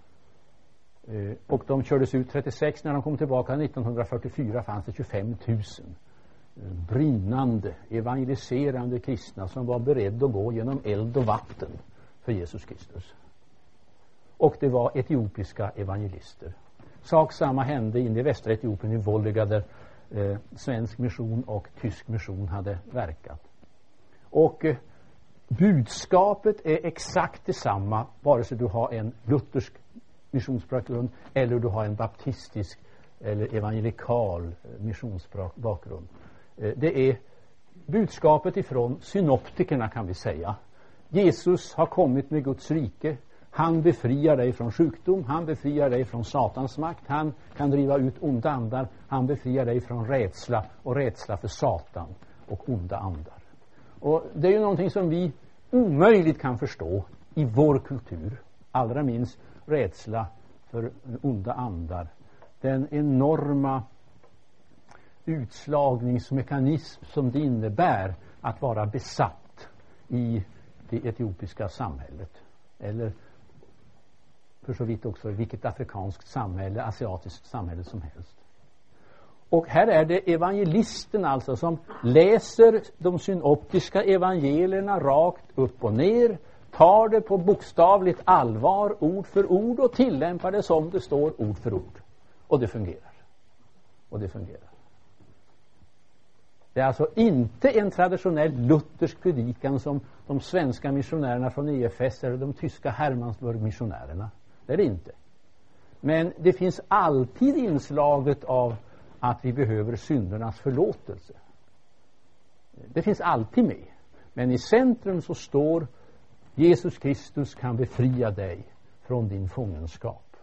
Eh, och de kördes ut trettiosex. När de kom tillbaka nittonhundrafyrtiofyra fanns det tjugofem tusen eh, brinnande, evangeliserande kristna som var beredda att gå genom eld och vatten för Jesus Kristus. Och det var etiopiska evangelister. Sak samma hände in i västra Etiopien i Volga, där eh, svensk mission och tysk mission hade verkat. Och eh, budskapet är exakt detsamma vare sig du har en luthersk missionsbakgrund eller du har en baptistisk eller evangelikal missionsbakgrund. Eh, det är budskapet ifrån synoptikerna, kan vi säga. Jesus har kommit med Guds rike. Han befriar dig från sjukdom. Han befriar dig från Satans makt. Han kan driva ut onda andar. Han befriar dig från rädsla och rädsla för Satan och onda andar. Och det är ju någonting som vi omöjligt kan förstå i vår kultur. Allra minst rädsla för onda andar. Den enorma utslagningsmekanism som det innebär att vara besatt i det etiopiska samhället, eller för så vitt också vilket afrikanskt samhälle, asiatiskt samhälle som helst. Och här är det evangelisten alltså som läser de synoptiska evangelierna rakt upp och ner, tar det på bokstavligt allvar, ord för ord, och tillämpar det som det står ord för ord. Och det fungerar. Och det fungerar. Det är alltså inte en traditionell luthersk predikan som de svenska missionärerna från E F S eller de tyska Hermannsburg-missionärerna. Det är det inte. Men det finns alltid inslaget av att vi behöver syndernas förlåtelse. Det finns alltid med. Men i centrum så står Jesus Kristus kan befria dig från din fångenskap.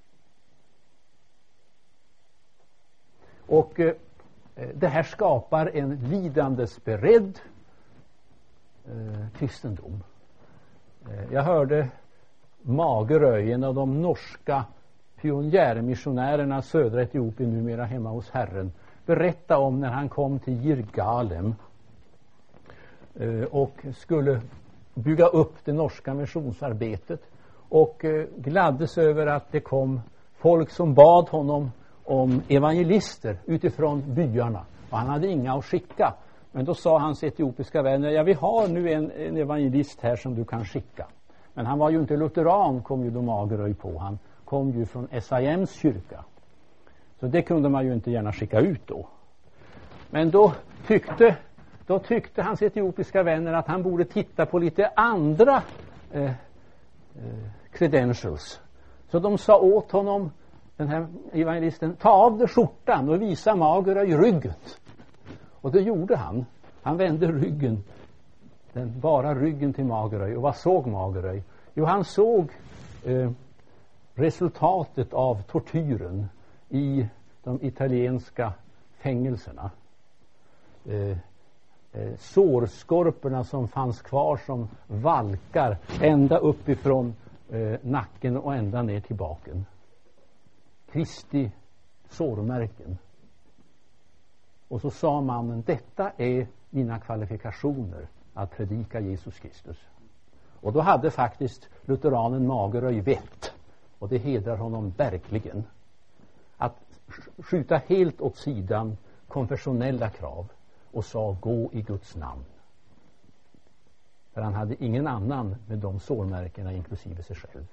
Och eh, det här skapar en lidandesberedd eh, kristendom. Eh, jag hörde Magerö, en av de norska pionjärmissionärerna södra Etiopien, numera hemma hos Herren, berätta om när han kom till Jirgalem eh, och skulle bygga upp det norska missionsarbetet, och eh, gladdes över att det kom folk som bad honom om evangelister utifrån byarna, och han hade inga att skicka. Men då sa hans etiopiska vänner: ja, vi har nu en, en evangelist här som du kan skicka. Men han var ju inte lutheran, kom ju de Magerö på. Han kom ju från S I M:s kyrka. Så det kunde man ju inte gärna skicka ut då. Men då tyckte, då tyckte hans etiopiska vänner att han borde titta på lite andra eh, eh, credentials. Så de sa åt honom, den här evangelisten, ta av dig skjortan och visa Magerö i ryggen. Och det gjorde han. Han vände ryggen, den bara ryggen till Magerö. Och vad såg Magerö? Jo, han såg eh, resultatet av tortyren i de italienska fängelserna. Eh, eh, sårskorporna som fanns kvar som valkar ända uppifrån eh, nacken och ända ner till baken. Kristi sårmärken. Och så sa mannen, detta är mina kvalifikationer att predika Jesus Kristus. Och då hade faktiskt lutheranen Magerö vett, och det hedrar honom verkligen, att skjuta helt åt sidan konfessionella krav och sa gå i Guds namn. För han hade ingen annan med de sårmärkena inklusive sig själv.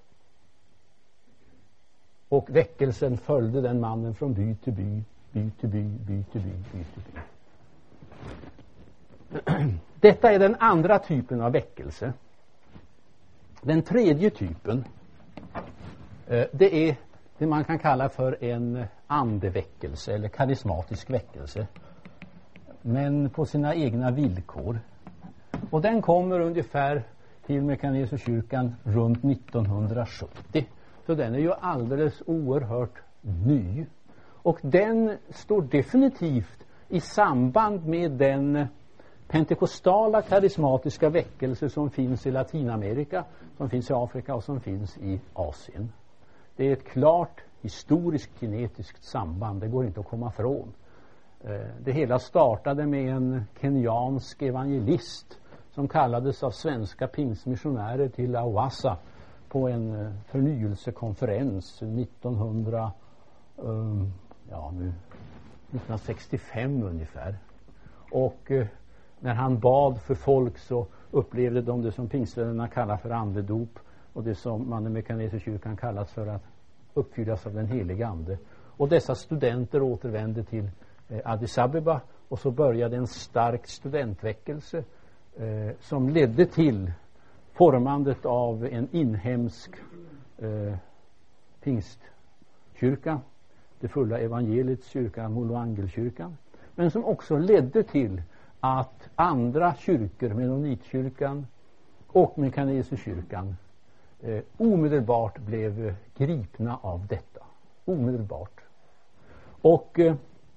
Och väckelsen följde den mannen från by till by, by till by, by till by, by till by. Detta är den andra typen av väckelse. Den tredje typen, eh, det är det man kan kalla för en andeväckelse eller karismatisk väckelse. Men på sina egna villkor. Och den kommer ungefär till Mekaneserkyrkan runt nittonhundrasjuttio. Så den är ju alldeles oerhört ny. Och den står definitivt i samband med den pentekostala karismatiska väckelse som finns i Latinamerika, som finns i Afrika och som finns i Asien. Det är ett klart historiskt kinetiskt samband, det går inte att komma från. Det hela startade med en kenyansk evangelist som kallades av svenska pingstmissionärer till Awassa på en förnyelsekonferens nittonhundra, um, ja, nu, nittonhundrasextiofem ungefär. Och uh, när han bad för folk så upplevde de det som pingstvännerna kallar för andedop och det som man i Mekaneserkyrkan kallas för att uppfyllas av den heliga ande. Och dessa studenter återvände till eh, Addis Abeba och så började en stark studentväckelse eh, som ledde till formandet av en inhemsk eh, pingstkyrka, det fulla evangeliets kyrka, Moloangelkyrkan, men som också ledde till att andra kyrkor, Mennonitkyrkan och Mekaneserkyrkan, eh, omedelbart blev gripna av detta. Omedelbart. Och eh,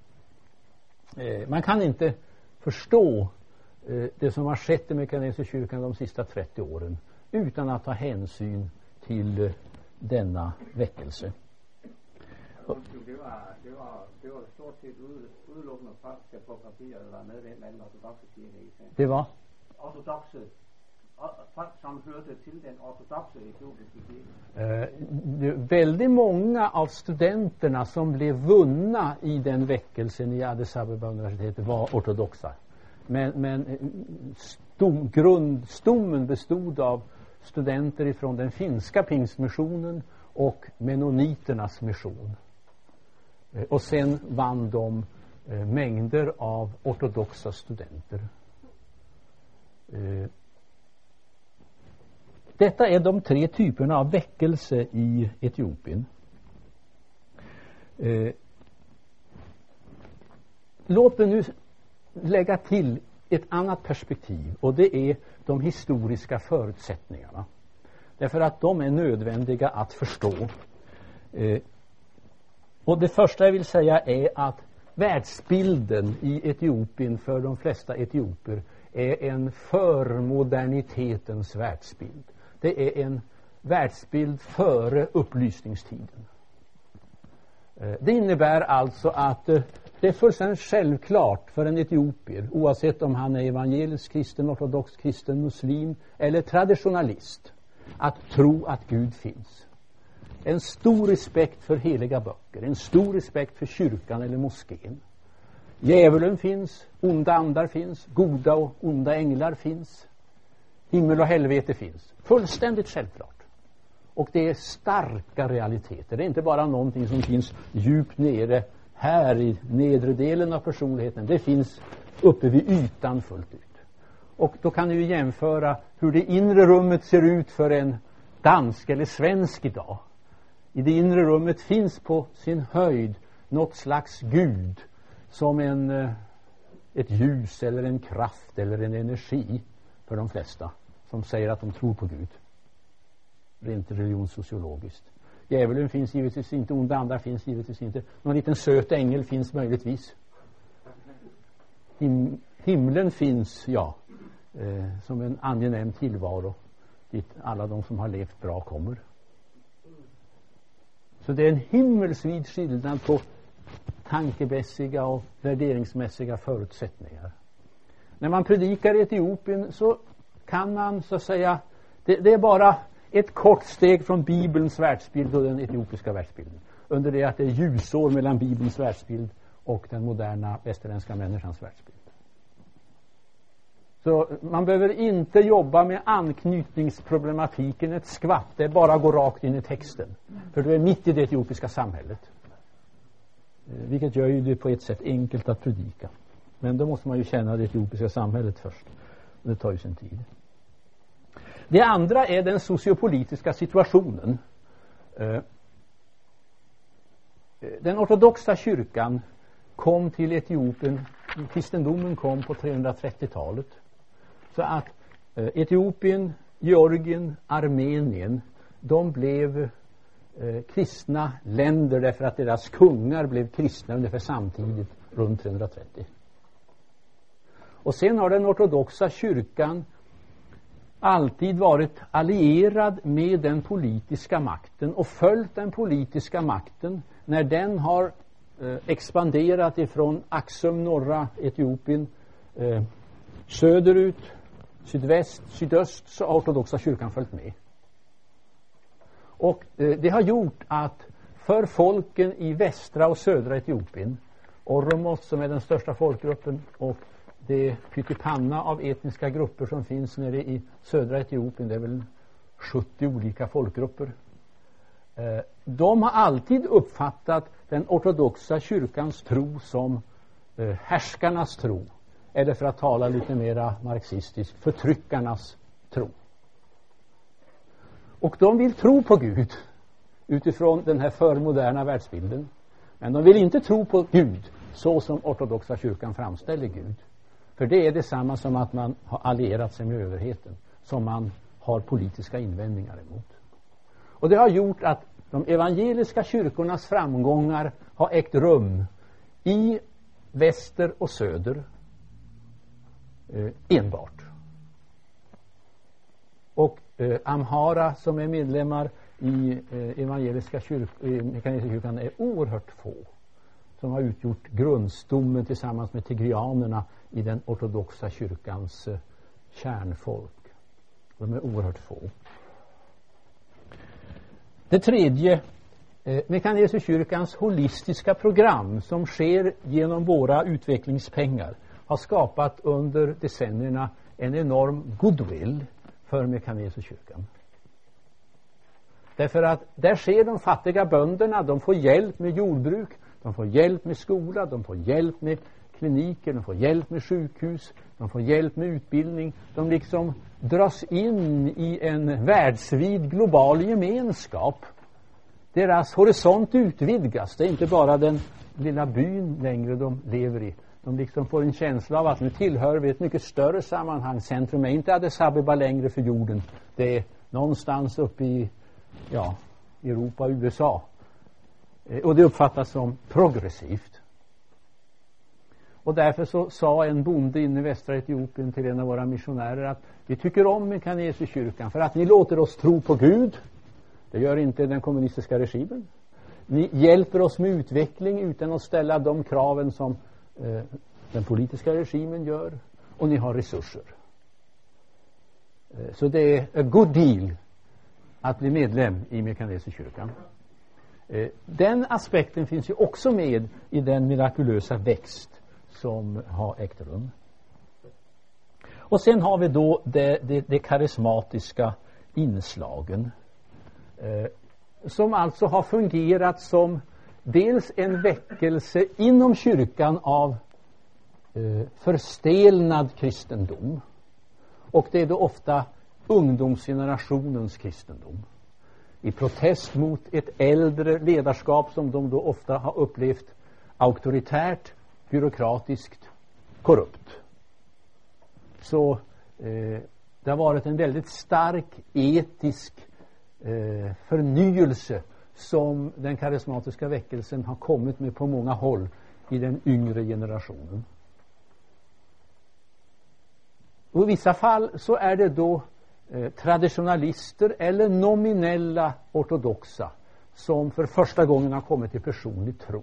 man kan inte förstå eh, det som har skett i Mekaneserkyrkan de sista trettio åren utan att ta hänsyn till eh, denna väckelse. Det var, det var, det var stort sett udelukkende franska på papir, eller medlem af den ortodoxe kirke. Det var? Ortodoxe. Folk som hørte til den ortodoxe etiopiske kirke. Eh, väldigt många av studenterna som blev vunna i den väckelsen i Addis Abeba universitetet var ortodoxa. Men, men stom, grundstommen bestod av studenter ifrån den finska pingstmissionen och mennoniternas mission. Eh, och sen vann de eh, mängder av ortodoxa studenter. Eh, Detta är de tre typerna av väckelse i Etiopien. Eh, låt mig nu lägga till ett annat perspektiv, och det är de historiska förutsättningarna. Därför att de är nödvändiga att förstå. Eh, och det första jag vill säga är att världsbilden i Etiopien för de flesta etioper är en förmodernitetens världsbild. Det är en världsbild före upplysningstiden. Det innebär alltså att det är fullständigt självklart för en etiopier, oavsett om han är evangelisk kristen, ortodox kristen, muslim eller traditionalist, att tro att Gud finns. En stor respekt för heliga böcker, en stor respekt för kyrkan eller moskén. Djävulen finns, onda andar finns, goda och onda änglar finns. Himmel och helvete finns. Fullständigt självklart. Och det är starka realiteter. Det är inte bara någonting som finns djupt nere här i nedre delen av personligheten. Det finns uppe vid ytan fullt ut. Och då kan ni ju jämföra hur det inre rummet ser ut för en dansk eller svensk idag. I det inre rummet finns på sin höjd något slags Gud som en, ett ljus eller en kraft eller en energi för de flesta som säger att de tror på Gud. Rent religionssociologiskt. Djävulen finns givetvis inte, onda andar finns givetvis inte. Någon liten söt ängel finns möjligtvis. Him- himlen finns, ja, eh, som en angenäm tillvaro dit alla de som har levt bra kommer. Så det är en himmelsvid skillnad på tankemässiga och värderingsmässiga förutsättningar. När man predikar i Etiopien så kan man så att säga, det, det är bara ett kort steg från Bibelns världsbild och den etiopiska världsbilden. Under det att det är ljusår mellan Bibelns världsbild och den moderna västerländska människans världsbild. Så man behöver inte jobba med anknytningsproblematiken ett skvatt. Det är bara att gå rakt in i texten. För du är mitt i det etiopiska samhället. Vilket gör ju det på ett sätt enkelt att predika. Men då måste man ju känna det etiopiska samhället först. Och det tar ju sin tid. Det andra är den sociopolitiska situationen. Den ortodoxa kyrkan kom till Etiopien, kristendomen kom på trehundratrettiotalet. Så att Etiopien, Georgien, Armenien, de blev eh, kristna länder därför att deras kungar blev kristna ungefär samtidigt runt trehundratrettio. Och sen har den ortodoxa kyrkan alltid varit allierad med den politiska makten och följt den politiska makten när den har eh, expanderat ifrån Axum, norra Etiopien, eh, söderut, sydväst, sydöst, så har ortodoxa kyrkan följt med. Och eh, det har gjort att för folken i västra och södra Etiopien, Oromos som är den största folkgruppen och det pyttipanna av etniska grupper som finns nere i södra Etiopien, det är väl sjuttio olika folkgrupper. Eh, de har alltid uppfattat den ortodoxa kyrkans tro som eh, härskarnas tro. Eller för att tala lite mera marxistiskt, förtryckarnas tro. Och de vill tro på Gud utifrån den här förmoderna världsbilden. Men de vill inte tro på Gud så som ortodoxa kyrkan framställer Gud. För det är detsamma som att man har allierat sig med överheten, som man har politiska invändningar emot. Och det har gjort att de evangeliska kyrkornas framgångar har ägt rum i väster och söder eh, enbart. Och eh, Amhara som är medlemmar i eh, evangeliska kyrkan är oerhört få som har utgjort grundstommen tillsammans med tigrianerna i den ortodoxa kyrkans eh, kärnfolk. De är oerhört få. Det tredje, eh, Mekanesekyrkans holistiska program som sker genom våra utvecklingspengar har skapat under decennierna en enorm goodwill för Mekanesekyrkan. Därför att där ser de fattiga bönderna, de får hjälp med jordbruk, de får hjälp med skola, de får hjälp med kliniker, de får hjälp med sjukhus, de får hjälp med utbildning. De liksom dras in i en världsvid global gemenskap. Deras horisont utvidgas. Det är inte bara den lilla byn längre de lever i. De liksom får en känsla av att nu tillhör vi ett mycket större sammanhang. Centrum är inte Addis Abeba längre för jorden. Det är någonstans uppe i ja, Europa och U S A. Och det uppfattas som progressivt. Och därför så sa en bonde inne i västra Etiopien till en av våra missionärer att vi tycker om Mekanesekyrkan för att ni låter oss tro på Gud. Det gör inte den kommunistiska regimen. Ni hjälper oss med utveckling utan att ställa de kraven som eh, den politiska regimen gör. Och ni har resurser. Eh, så det är a good deal att bli medlem i Mekanesekyrkan. Eh, den aspekten finns ju också med i den mirakulösa växt som har ägt rum. Och sen har vi då det, det, det karismatiska inslagen. Eh, som alltså har fungerat som dels en väckelse inom kyrkan av eh, förstelnad kristendom. Och det är då ofta ungdomsgenerationens kristendom. I protest mot ett äldre ledarskap som de då ofta har upplevt auktoritärt, byråkratiskt, korrupt. Så eh, det har varit en väldigt stark etisk eh, förnyelse som den karismatiska väckelsen har kommit med på många håll i den yngre generationen. Och i vissa fall så är det då eh, traditionalister eller nominella ortodoxa som för första gången har kommit till personlig tro.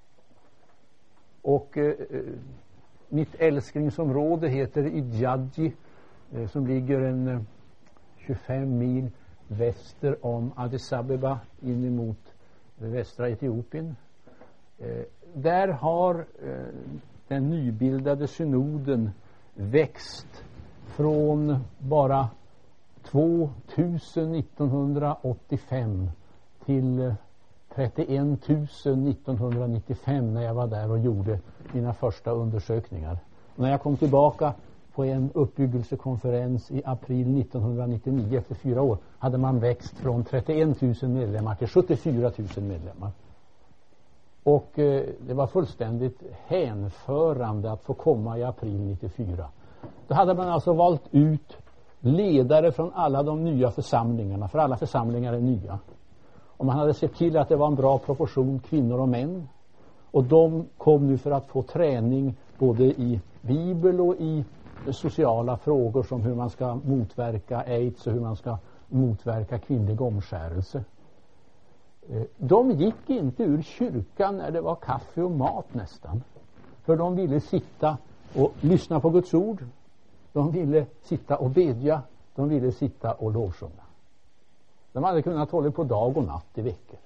Och eh, mitt älsklingsområde heter Idjadji, eh, som ligger en eh, tjugofem mil väster om Addis Abeba in emot eh, västra Etiopien. Eh, där har eh, den nybildade synoden växt från bara tvåtusen nittonhundraåttiofem till trettioen tusen nittonhundranittiofem när jag var där och gjorde mina första undersökningar. När jag kom tillbaka på en uppbyggelsekonferens i april nittonhundranittionio efter fyra år hade man växt från trettioen tusen medlemmar till sjuttiofyra tusen medlemmar. Och eh, det var fullständigt hänförande att få komma i april nittiofyra. Då hade man alltså valt ut ledare från alla de nya församlingarna, för alla församlingar är nya. Och man hade sett till att det var en bra proportion kvinnor och män. Och de kom nu för att få träning både i bibel och i sociala frågor som hur man ska motverka aids och hur man ska motverka kvinnlig omskärelse. De gick inte ur kyrkan när det var kaffe och mat nästan. För de ville sitta och lyssna på Guds ord. De ville sitta och bedja. De ville sitta och lovsjunga. De hade kunnat hålla på dag och natt i veckor.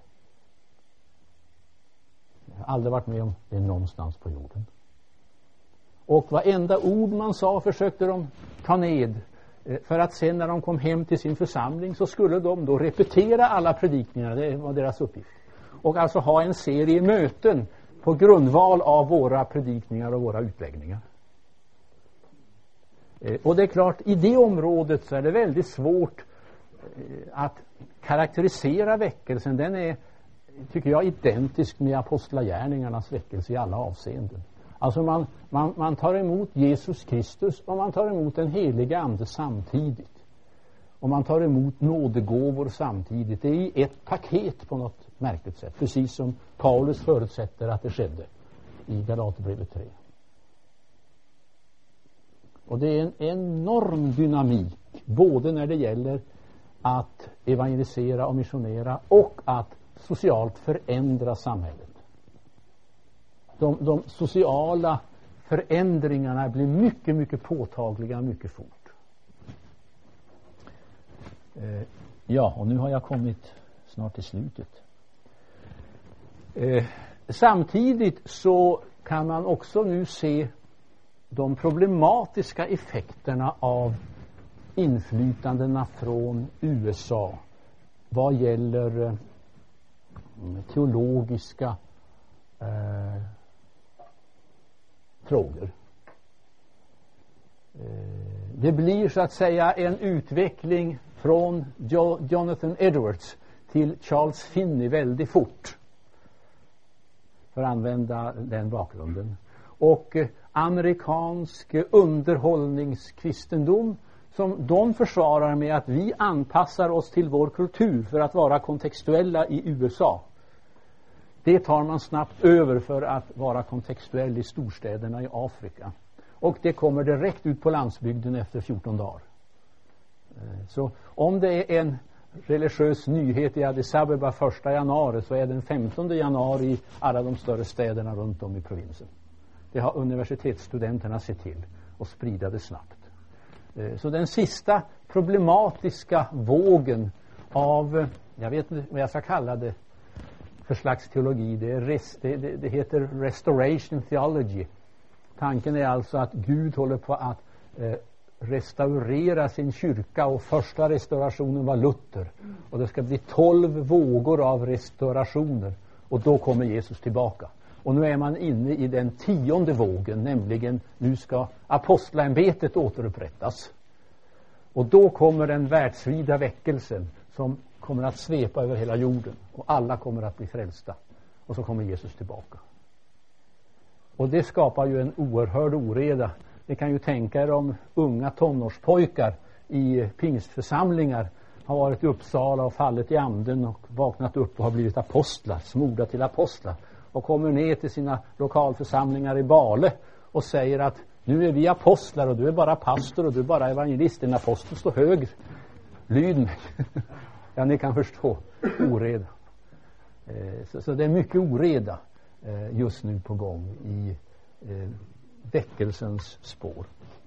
Jag har aldrig varit med om det någonstans på jorden. Och varenda ord man sa försökte de ta ned. För att sen när de kom hem till sin församling så skulle de då repetera alla predikningar. Det var deras uppgift. Och alltså ha en serie möten på grundval av våra predikningar och våra utläggningar. Och det är klart, i det området så är det väldigt svårt att karaktärisera väckelsen. Den är, tycker jag, identisk med apostlagärningarnas väckelse i alla avseenden. Alltså man, man, man tar emot Jesus Kristus och man tar emot den heliga ande samtidigt. Och man tar emot nådegåvor samtidigt. Det är i ett paket på något märkligt sätt. Precis som Paulus förutsätter att det skedde i Galaterbrevet tre. Och det är en enorm dynamik både när det gäller att evangelisera och missionera och att socialt förändra samhället. De, de sociala förändringarna blir mycket, mycket påtagliga mycket fort. Eh, ja, och nu har jag kommit snart till slutet. Eh, samtidigt så kan man också nu se de problematiska effekterna av inflytandena från U S A vad gäller eh, teologiska eh, frågor. Eh, det blir så att säga en utveckling från jo- Jonathan Edwards till Charles Finney väldigt fort, för att använda den bakgrunden. Och eh, amerikansk underhållningskristendom som de försvarar med att vi anpassar oss till vår kultur för att vara kontextuella i U S A. Det tar man snabbt över för att vara kontextuell i storstäderna i Afrika. Och det kommer direkt ut på landsbygden efter fjorton dagar. Så om det är en religiös nyhet i Addis Abeba första januari så är den femtonde januari i alla de större städerna runt om i provinsen. Det har universitetsstudenterna sett till och sprida det snabbt. Så den sista problematiska vågen av, jag vet inte vad jag ska kalla det för slags teologi, det, är rest, det, det, det heter restoration theology. Tanken är alltså att Gud håller på att eh, restaurera sin kyrka, och första restaurationen var Luther, och det ska bli tolv vågor av restaurationer, och då kommer Jesus tillbaka. Och nu är man inne i den tionde vågen, nämligen nu ska apostlaämbetet återupprättas. Och då kommer den världsvida väckelsen som kommer att svepa över hela jorden, och alla kommer att bli frälsta, och så kommer Jesus tillbaka. Och det skapar ju en oerhörd oreda. Ni kan ju tänka er om unga tonårspojkar i pingstförsamlingar har varit i Uppsala och fallit i anden och vaknat upp och har blivit apostlar, smorda till apostlar, och kommer ner till sina lokalförsamlingar i Bale och säger att nu är vi apostlar och du är bara pastor och du är bara evangelist. En apostel står högre. Lyd mig. Ja, ni kan förstå oreda. Eh, så, så det är mycket oreda eh, just nu på gång i eh, väckelsens spår.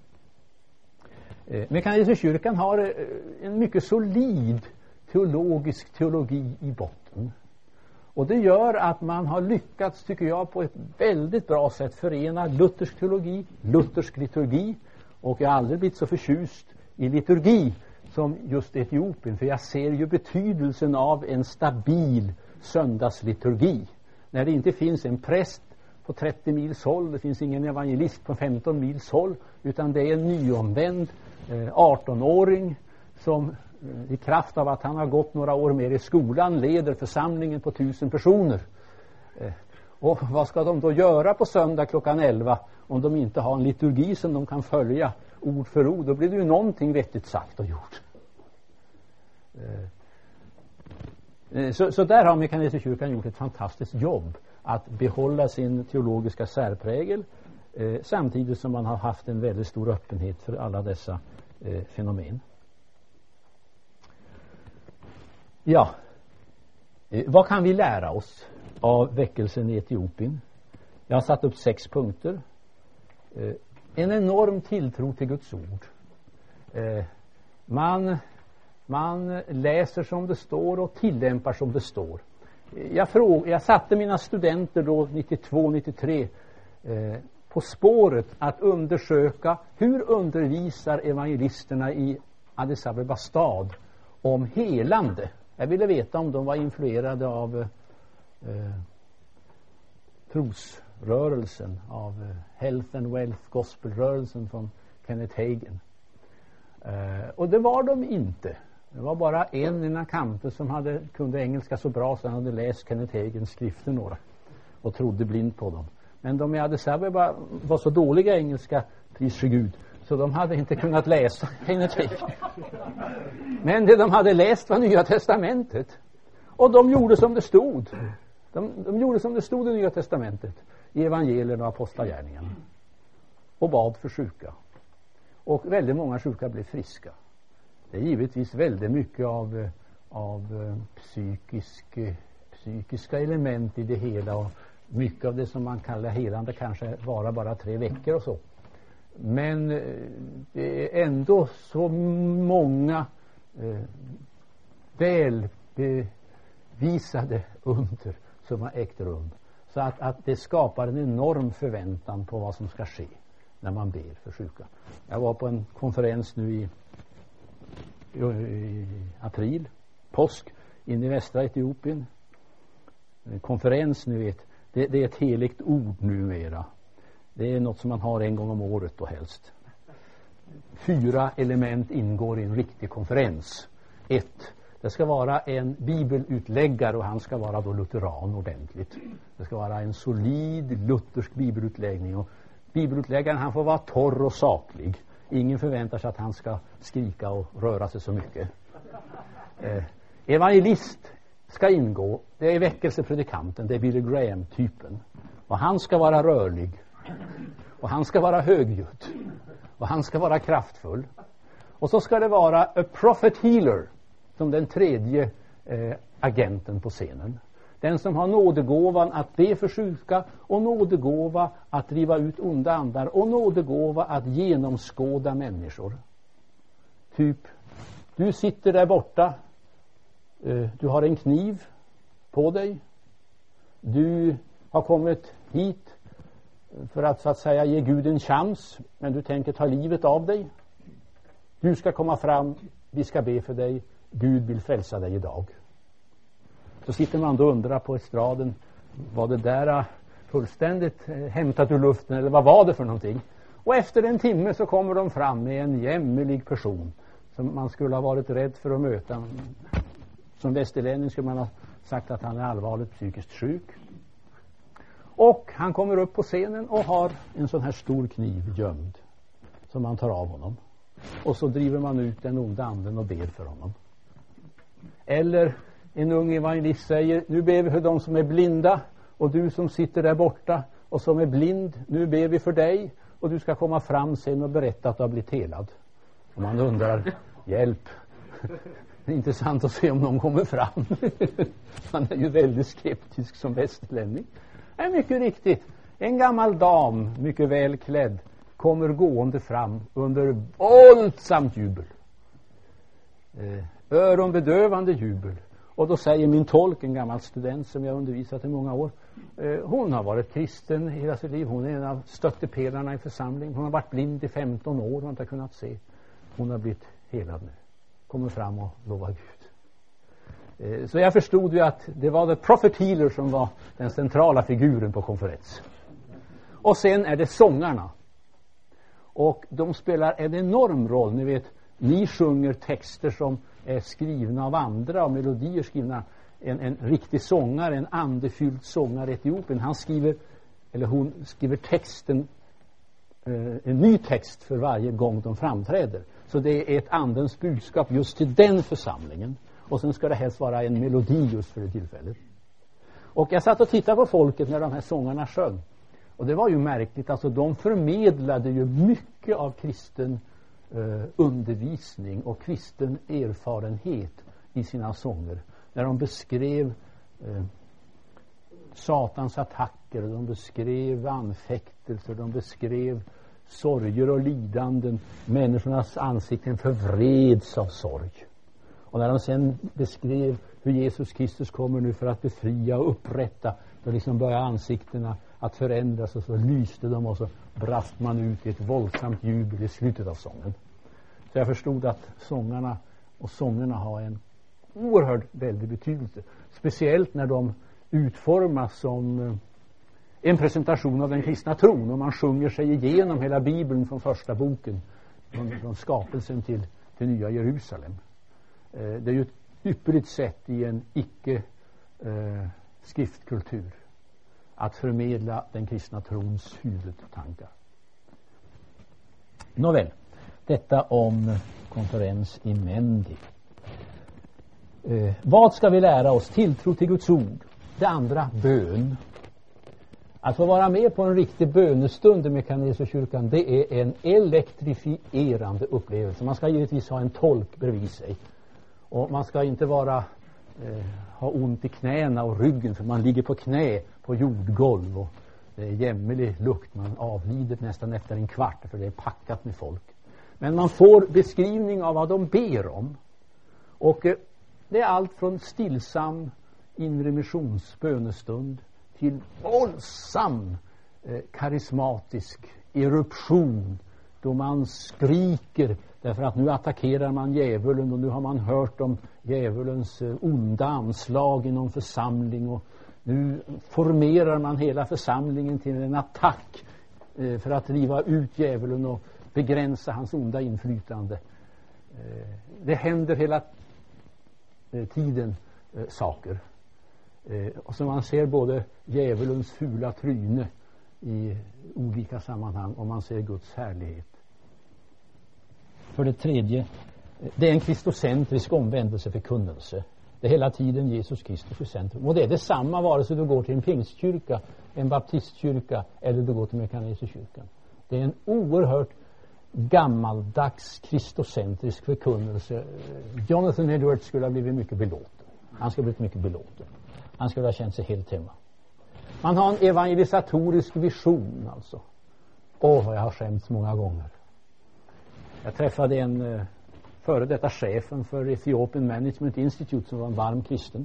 Eh, Mekanisterkyrkan har eh, en mycket solid teologisk teologi i botten. Och det gör att man har lyckats, tycker jag, på ett väldigt bra sätt förena luthersk teologi, luthersk liturgi. Och jag har aldrig blivit så förtjust i liturgi som just Etiopien. För jag ser ju betydelsen av en stabil söndagsliturgi. När det inte finns en präst på trettio mils håll, det finns ingen evangelist på femton mils håll, utan det är en nyomvänd eh, arton-åring som i kraft av att han har gått några år mer i skolan leder församlingen på tusen personer. Eh, och vad ska de då göra på söndag klockan elva om de inte har en liturgi som de kan följa ord för ord? Då blir det ju någonting vettigt sagt och gjort. Eh, så, så där har Mekanisterkyrkan gjort ett fantastiskt jobb att behålla sin teologiska särprägel eh, samtidigt som man har haft en väldigt stor öppenhet för alla dessa eh, fenomen. Ja, eh, vad kan vi lära oss av väckelsen i Etiopien? Jag har satt upp sex punkter. Eh, en enorm tilltro till Guds ord. Eh, man, man läser som det står och tillämpar som det står. Jag, fråg, jag satte mina studenter då nittiotvå nittiotre eh, på spåret att undersöka hur undervisar evangelisterna i Addis Abeba stad om helande. Jag ville veta om de var influerade av eh, trosrörelsen, av eh, Health and Wealth Gospel-rörelsen från Kenneth Hagin. Eh, och det var de inte. Det var bara en i Nakamte som hade, kunde engelska så bra så han hade läst Kenneth Hagins skrifter några och trodde blind på dem. Men de i Addis Abeba var så dåliga engelska, pris för Gud, så de hade inte kunnat läsa Kenneth Hagin. Men det de hade läst var Nya Testamentet. Och de gjorde som det stod. De, de gjorde som det stod i Nya Testamentet, i evangelierna och apostlagärningarna. Och bad för sjuka. Och väldigt många sjuka blev friska. Det är givetvis väldigt mycket av, av psykisk, psykiska element i det hela, och mycket av det som man kallar helande kanske vara bara tre veckor och så. Men det är ändå så många eh, väl bevisade under som har ägt rum, så att, att det skapar en enorm förväntan på vad som ska ske när man ber för sjuka. Jag var på en konferens nu i i april, påsk, in i västra Etiopien. En konferens, nu vet, det, det är ett heligt ord numera. Det är något som man har en gång om året och helst. Fyra element ingår i en riktig konferens. Ett, det ska vara en bibelutläggare, och han ska vara då lutheran ordentligt. Det ska vara en solid luthersk bibelutläggning, och bibelutläggaren han får vara torr och saklig. Ingen förväntar sig att han ska skrika och röra sig så mycket. Eh, evangelist ska ingå. Det är väckelsepredikanten, det är Billy Graham-typen. Och han ska vara rörlig. Och han ska vara högljudd. Och han ska vara kraftfull. Och så ska det vara a prophet healer, som den tredje eh, agenten på scenen. Den som har nådegåvan att be för sjuka, och nådegåva att driva ut onda andar, och nådegåva att genomskåda människor. Typ, du sitter där borta, eh, du har en kniv på dig, du har kommit hit för att så att säga ge Gud en chans, men du tänker ta livet av dig. Du ska komma fram, vi ska be för dig, Gud vill frälsa dig idag. Så sitter man då och undrar på estraden, var det där fullständigt eh, hämtat ur luften eller vad var det för någonting? Och efter en timme så kommer de fram med en jämmelig person som man skulle ha varit rädd för att möta. Som västerlänning skulle man ha sagt att han är allvarligt psykiskt sjuk. Och han kommer upp på scenen och har en sån här stor kniv gömd som man tar av honom. Och så driver man ut den onda anden och ber för honom. Eller en ung evangelist säger, nu ber vi för de som är blinda, och du som sitter där borta och som är blind, nu ber vi för dig, och du ska komma fram sen och berätta att du har blivit helad. Och man undrar, hjälp. Det är intressant att se om någon kommer fram. Man är ju väldigt skeptisk som västerlänning. Det är mycket riktigt. En gammal dam, mycket väl klädd, kommer gående fram under våldsamt jubel. Eh, öronbedövande jubel. Och då säger min tolk, en gammal student som jag undervisat i många år, eh, hon har varit kristen hela sitt liv. Hon är en av stöttepelarna i församlingen. Hon har varit blind i femton år och inte kunnat se. Hon har blivit helad nu. Kommer fram och lovar Gud. Eh, så jag förstod ju att det var the prophet healer som var den centrala figuren på konferens. Och sen är det sångarna. Och de spelar en enorm roll. Ni vet, ni sjunger texter som är skrivna av andra och melodier skrivna. En, en riktig sångare, en andefylld sångare i Etiopien, han skriver, eller hon skriver texten, eh, en ny text för varje gång de framträder. Så det är ett andens budskap just till den församlingen. Och sen ska det helst vara en melodi just för det tillfället. Och jag satt och tittade på folket när de här sångarna sjöng. Och det var ju märkligt, alltså de förmedlade ju mycket av kristen eh, undervisning och kristen erfarenhet i sina sånger. När de beskrev eh, Satans attacker, de beskrev anfäktelser, de beskrev sorger och lidanden. Människornas ansikten förvreds av sorg. Och när de sen beskrev hur Jesus Kristus kommer nu för att befria och upprätta, då liksom börjar ansiktena att förändras, och så lyste de och så brast man ut i ett våldsamt jubel i slutet av sången. Så jag förstod att sångarna och sångerna har en oerhört väldig betydelse. Speciellt när de utformas som en presentation av den kristna tron, och man sjunger sig igenom hela Bibeln från första boken, från, från skapelsen till, till nya Jerusalem. Eh, det är ju ett ypperligt sätt i en icke eh, skriftkultur att förmedla den kristna trons huvudtankar. Nåväl, detta om konferens i Mendi. Eh, vad ska vi lära oss? Tilltro till Guds ord. Det andra, bön. Att få vara med på en riktig bönestund i Mekaneserkyrkan, det är en elektrifierande upplevelse. Man ska givetvis ha en tolk bredvid sig. Och man ska inte vara eh, ha ont i knäna och ryggen, för man ligger på knä på jordgolv och det är jämmelig lukt. Man avlider nästan efter en kvart, för det är packat med folk. Men man får beskrivning av vad de ber om. Och eh, det är allt från stillsam inre missionsbönestund till våldsam eh, karismatisk eruption, då man skriker därför att nu attackerar man djävulen, och nu har man hört om djävulens eh, onda anslag inom församling, och nu formerar man hela församlingen till en attack eh, för att driva ut djävulen och begränsa hans onda inflytande. Eh, det händer hela eh, tiden eh, saker. Eh, och så man ser både djävulens fula tryne i olika sammanhang, och man ser Guds härlighet. För det tredje, det är en kristocentrisk omvändelseförkunnelse. Det är hela tiden Jesus Kristus i centrum. Och det är detsamma vare sig du går till en pingstkyrka, en baptistkyrka eller du går till Mekaneserkyrkan. Det är en oerhört gammaldags kristocentrisk förkunnelse. Jonathan Edwards skulle ha blivit mycket belåten. Han skulle ha blivit mycket belåten. Han skulle ha känt sig helt hemma. Man har en evangelisatorisk vision alltså. Åh, vad jag har skämts många gånger. Jag träffade en uh, före detta chefen för Ethiopian Management Institute som var en varm kristen.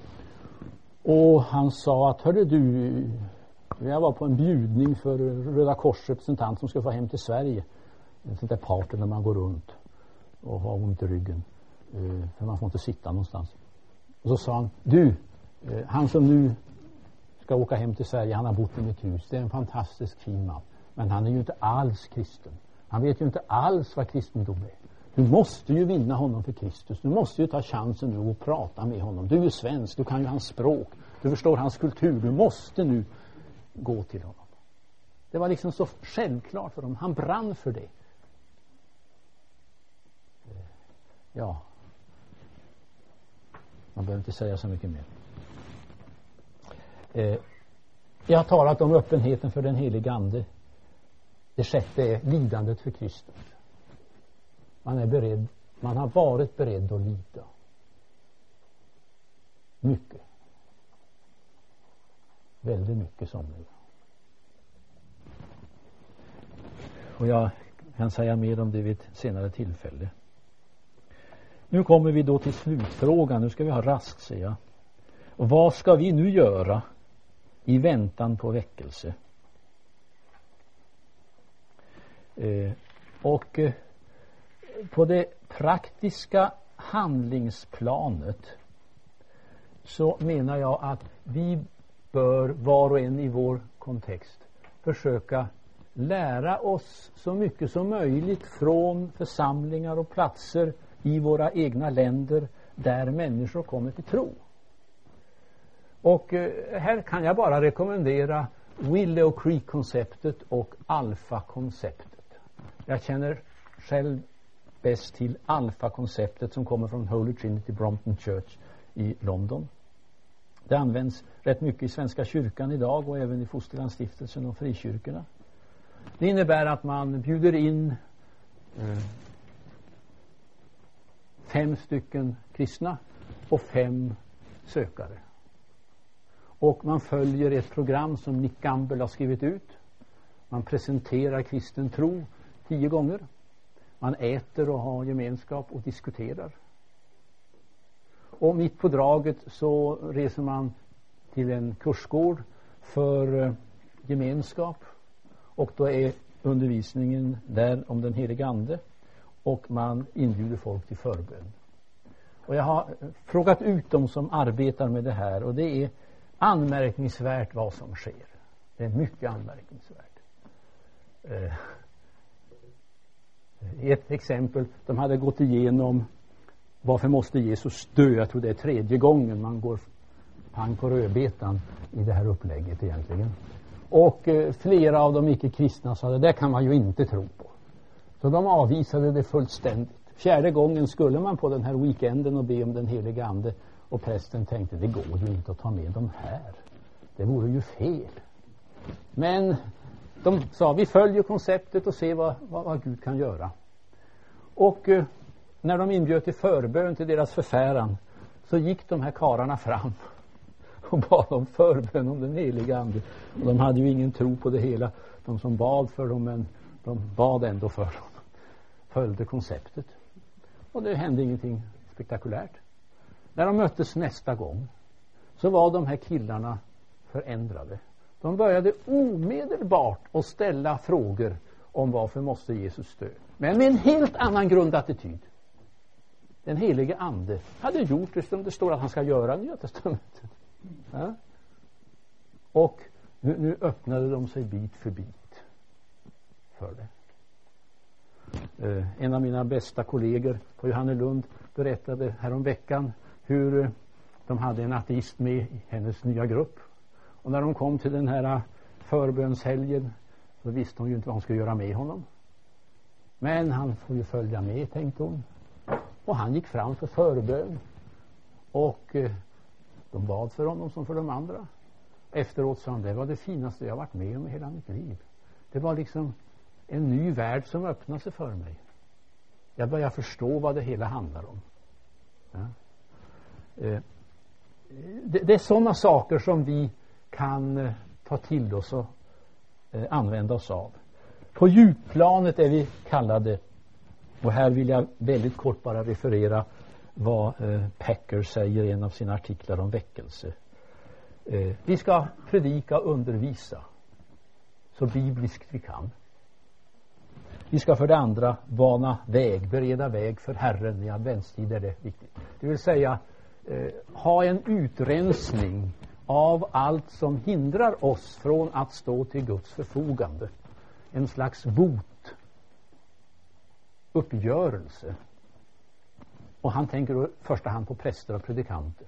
Och han sa att, hörde du, jag var på en bjudning för Röda Kors representant som ska få hem till Sverige. En sån där party när man går runt. och har ont i ryggen. Eh, för man får inte sitta någonstans. Och så sa han, du, eh, han som nu ska åka hem till Sverige, han har bott i mitt hus. Det är en fantastisk fin man. Men han är ju inte alls kristen. Han vet ju inte alls vad kristendom är. Du måste ju vinna honom för Kristus. Du måste ju ta chansen nu och prata med honom. Du är ju svensk, du kan ju hans språk. Du förstår hans kultur. Du måste nu gå till honom. Det var liksom så självklart för dem. Han brann för det. Ja. Man behöver inte säga så mycket mer. Eh, jag har talat om öppenheten för den heliga ande. Det sjätte är lidandet för Kristus. Man är beredd, man har varit beredd att lida. Mycket. Väldigt mycket somliga. Och jag kan säga mer om det vid ett senare tillfälle. Nu kommer vi då till slutfrågan. Nu ska vi ha raskt, säger jag. Och vad ska vi nu göra i väntan på väckelse? Eh, och eh, på det praktiska handlingsplanet så menar jag att vi bör var och en i vår kontext försöka lära oss så mycket som möjligt från församlingar och platser i våra egna länder där människor kommer till tro. Och eh, här kan jag bara rekommendera Willow Creek-konceptet och Alpha-konceptet. Jag känner själv bäst till Alpha-konceptet som kommer från Holy Trinity Brompton Church i London. Det används rätt mycket i Svenska kyrkan idag och även i Fosterlandsstiftelsen och frikyrkorna. Det innebär att man bjuder in eh, fem stycken kristna och fem sökare. Och man följer ett program som Nick Gamble har skrivit ut. Man presenterar kristen tro tio gånger. Man äter och har gemenskap och diskuterar. Och mitt på draget så reser man till en kursgård för eh, gemenskap. Och då är undervisningen där om den heliga ande. Och man inbjuder folk till förbön. Och jag har frågat ut dem som arbetar med det här. Och det är anmärkningsvärt vad som sker. Det är mycket anmärkningsvärt. Eh, ett exempel. De hade gått igenom varför måste Jesus dö. Jag tror det är tredje gången man går pang på rödbetan i det här upplägget egentligen. Och eh, flera av de icke-kristna sa det där kan man ju inte tro på. Så de avvisade det fullständigt. Fjärde gången skulle man på den här weekenden och be om den heliga ande. Och prästen tänkte, det går ju inte att ta med dem här. Det vore ju fel. Men de sa, vi följer konceptet och ser vad, vad, vad Gud kan göra. Och eh, när de inbjöd till förbön till deras förfäran så gick de här kararna fram och bad om förbön om den heliga ande. Och de hade ju ingen tro på det hela, de som bad för dem, men de bad ändå för dem. Följde konceptet. Och det hände ingenting spektakulärt. När de möttes nästa gång så var de här killarna förändrade. De började omedelbart att ställa frågor om varför måste Jesus dö. Men med en helt annan grundattityd. Den helige ande hade gjort det som det står att han ska göra i Nya testamentet. Ja? Och nu, nu öppnade de sig bit för bit för det. Uh, en av mina bästa kollegor på Johannelund berättade härom veckan hur uh, de hade en ateist med i hennes nya grupp. Och när de kom till den här förbönshelgen så visste hon ju inte vad hon skulle göra med honom. Men han får ju följa med, tänkte hon. Och han gick fram för förbön. Och uh, de bad för honom som för de andra. Efteråt sa han, det var det finaste jag varit med om i hela mitt liv. Det var liksom en ny värld som öppnade sig för mig. Jag börjar förstå vad det hela handlar om. Ja. Eh, det, det är sådana saker som vi kan eh, ta till oss och eh, använda oss av. På djupplanet är vi kallade, och här vill jag väldigt kort bara referera vad eh, Packer säger i en av sina artiklar om väckelse. Eh, vi ska predika och undervisa så bibliskt vi kan. Vi ska för det andra bana väg, bereda väg för Herren. I adventstid är det viktigt. Det vill säga eh, ha en utrensning av allt som hindrar oss från att stå till Guds förfogande. En slags bot, uppgörelse. Och han tänker då i första hand på präster och predikanter.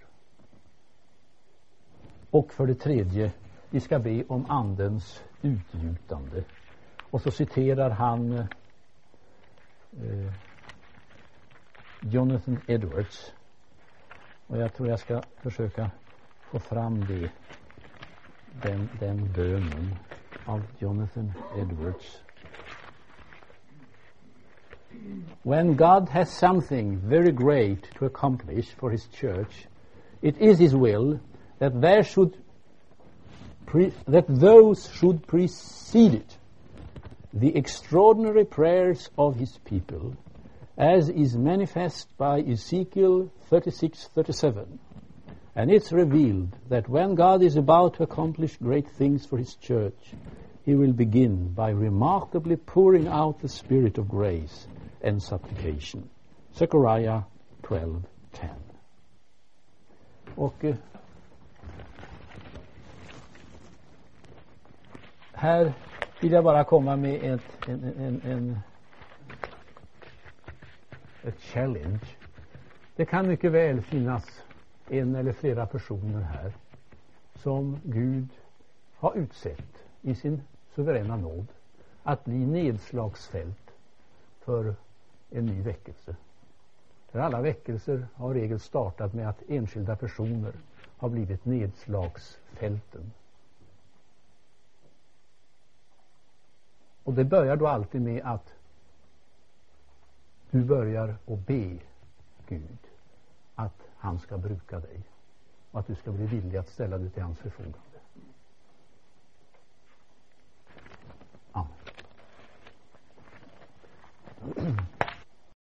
Och för det tredje, vi ska be om andens utgjutande. Och så citerar han eh, Jonathan Edwards. Och jag tror jag ska försöka få fram det, den, den bönen av Jonathan Edwards. When God has something very great to accomplish for his church, it is his will that there should pre- that those should precede it. The extraordinary prayers of his people, as is manifest by Ezekiel thirty-six thirty-seven. And it's revealed that when God is about to accomplish great things for his church, he will begin by remarkably pouring out the spirit of grace and supplication. Zechariah twelve ten. Och eh, här vill jag bara komma med ett, en, en, en, ett challenge. Det kan mycket väl finnas en eller flera personer här som Gud har utsett i sin suveräna nåd att bli nedslagsfält för en ny väckelse. För alla väckelser har regel startat med att enskilda personer har blivit nedslagsfälten. Och det börjar då alltid med att du börjar att be Gud att han ska bruka dig och att du ska bli villig att ställa dig till hans förfogande.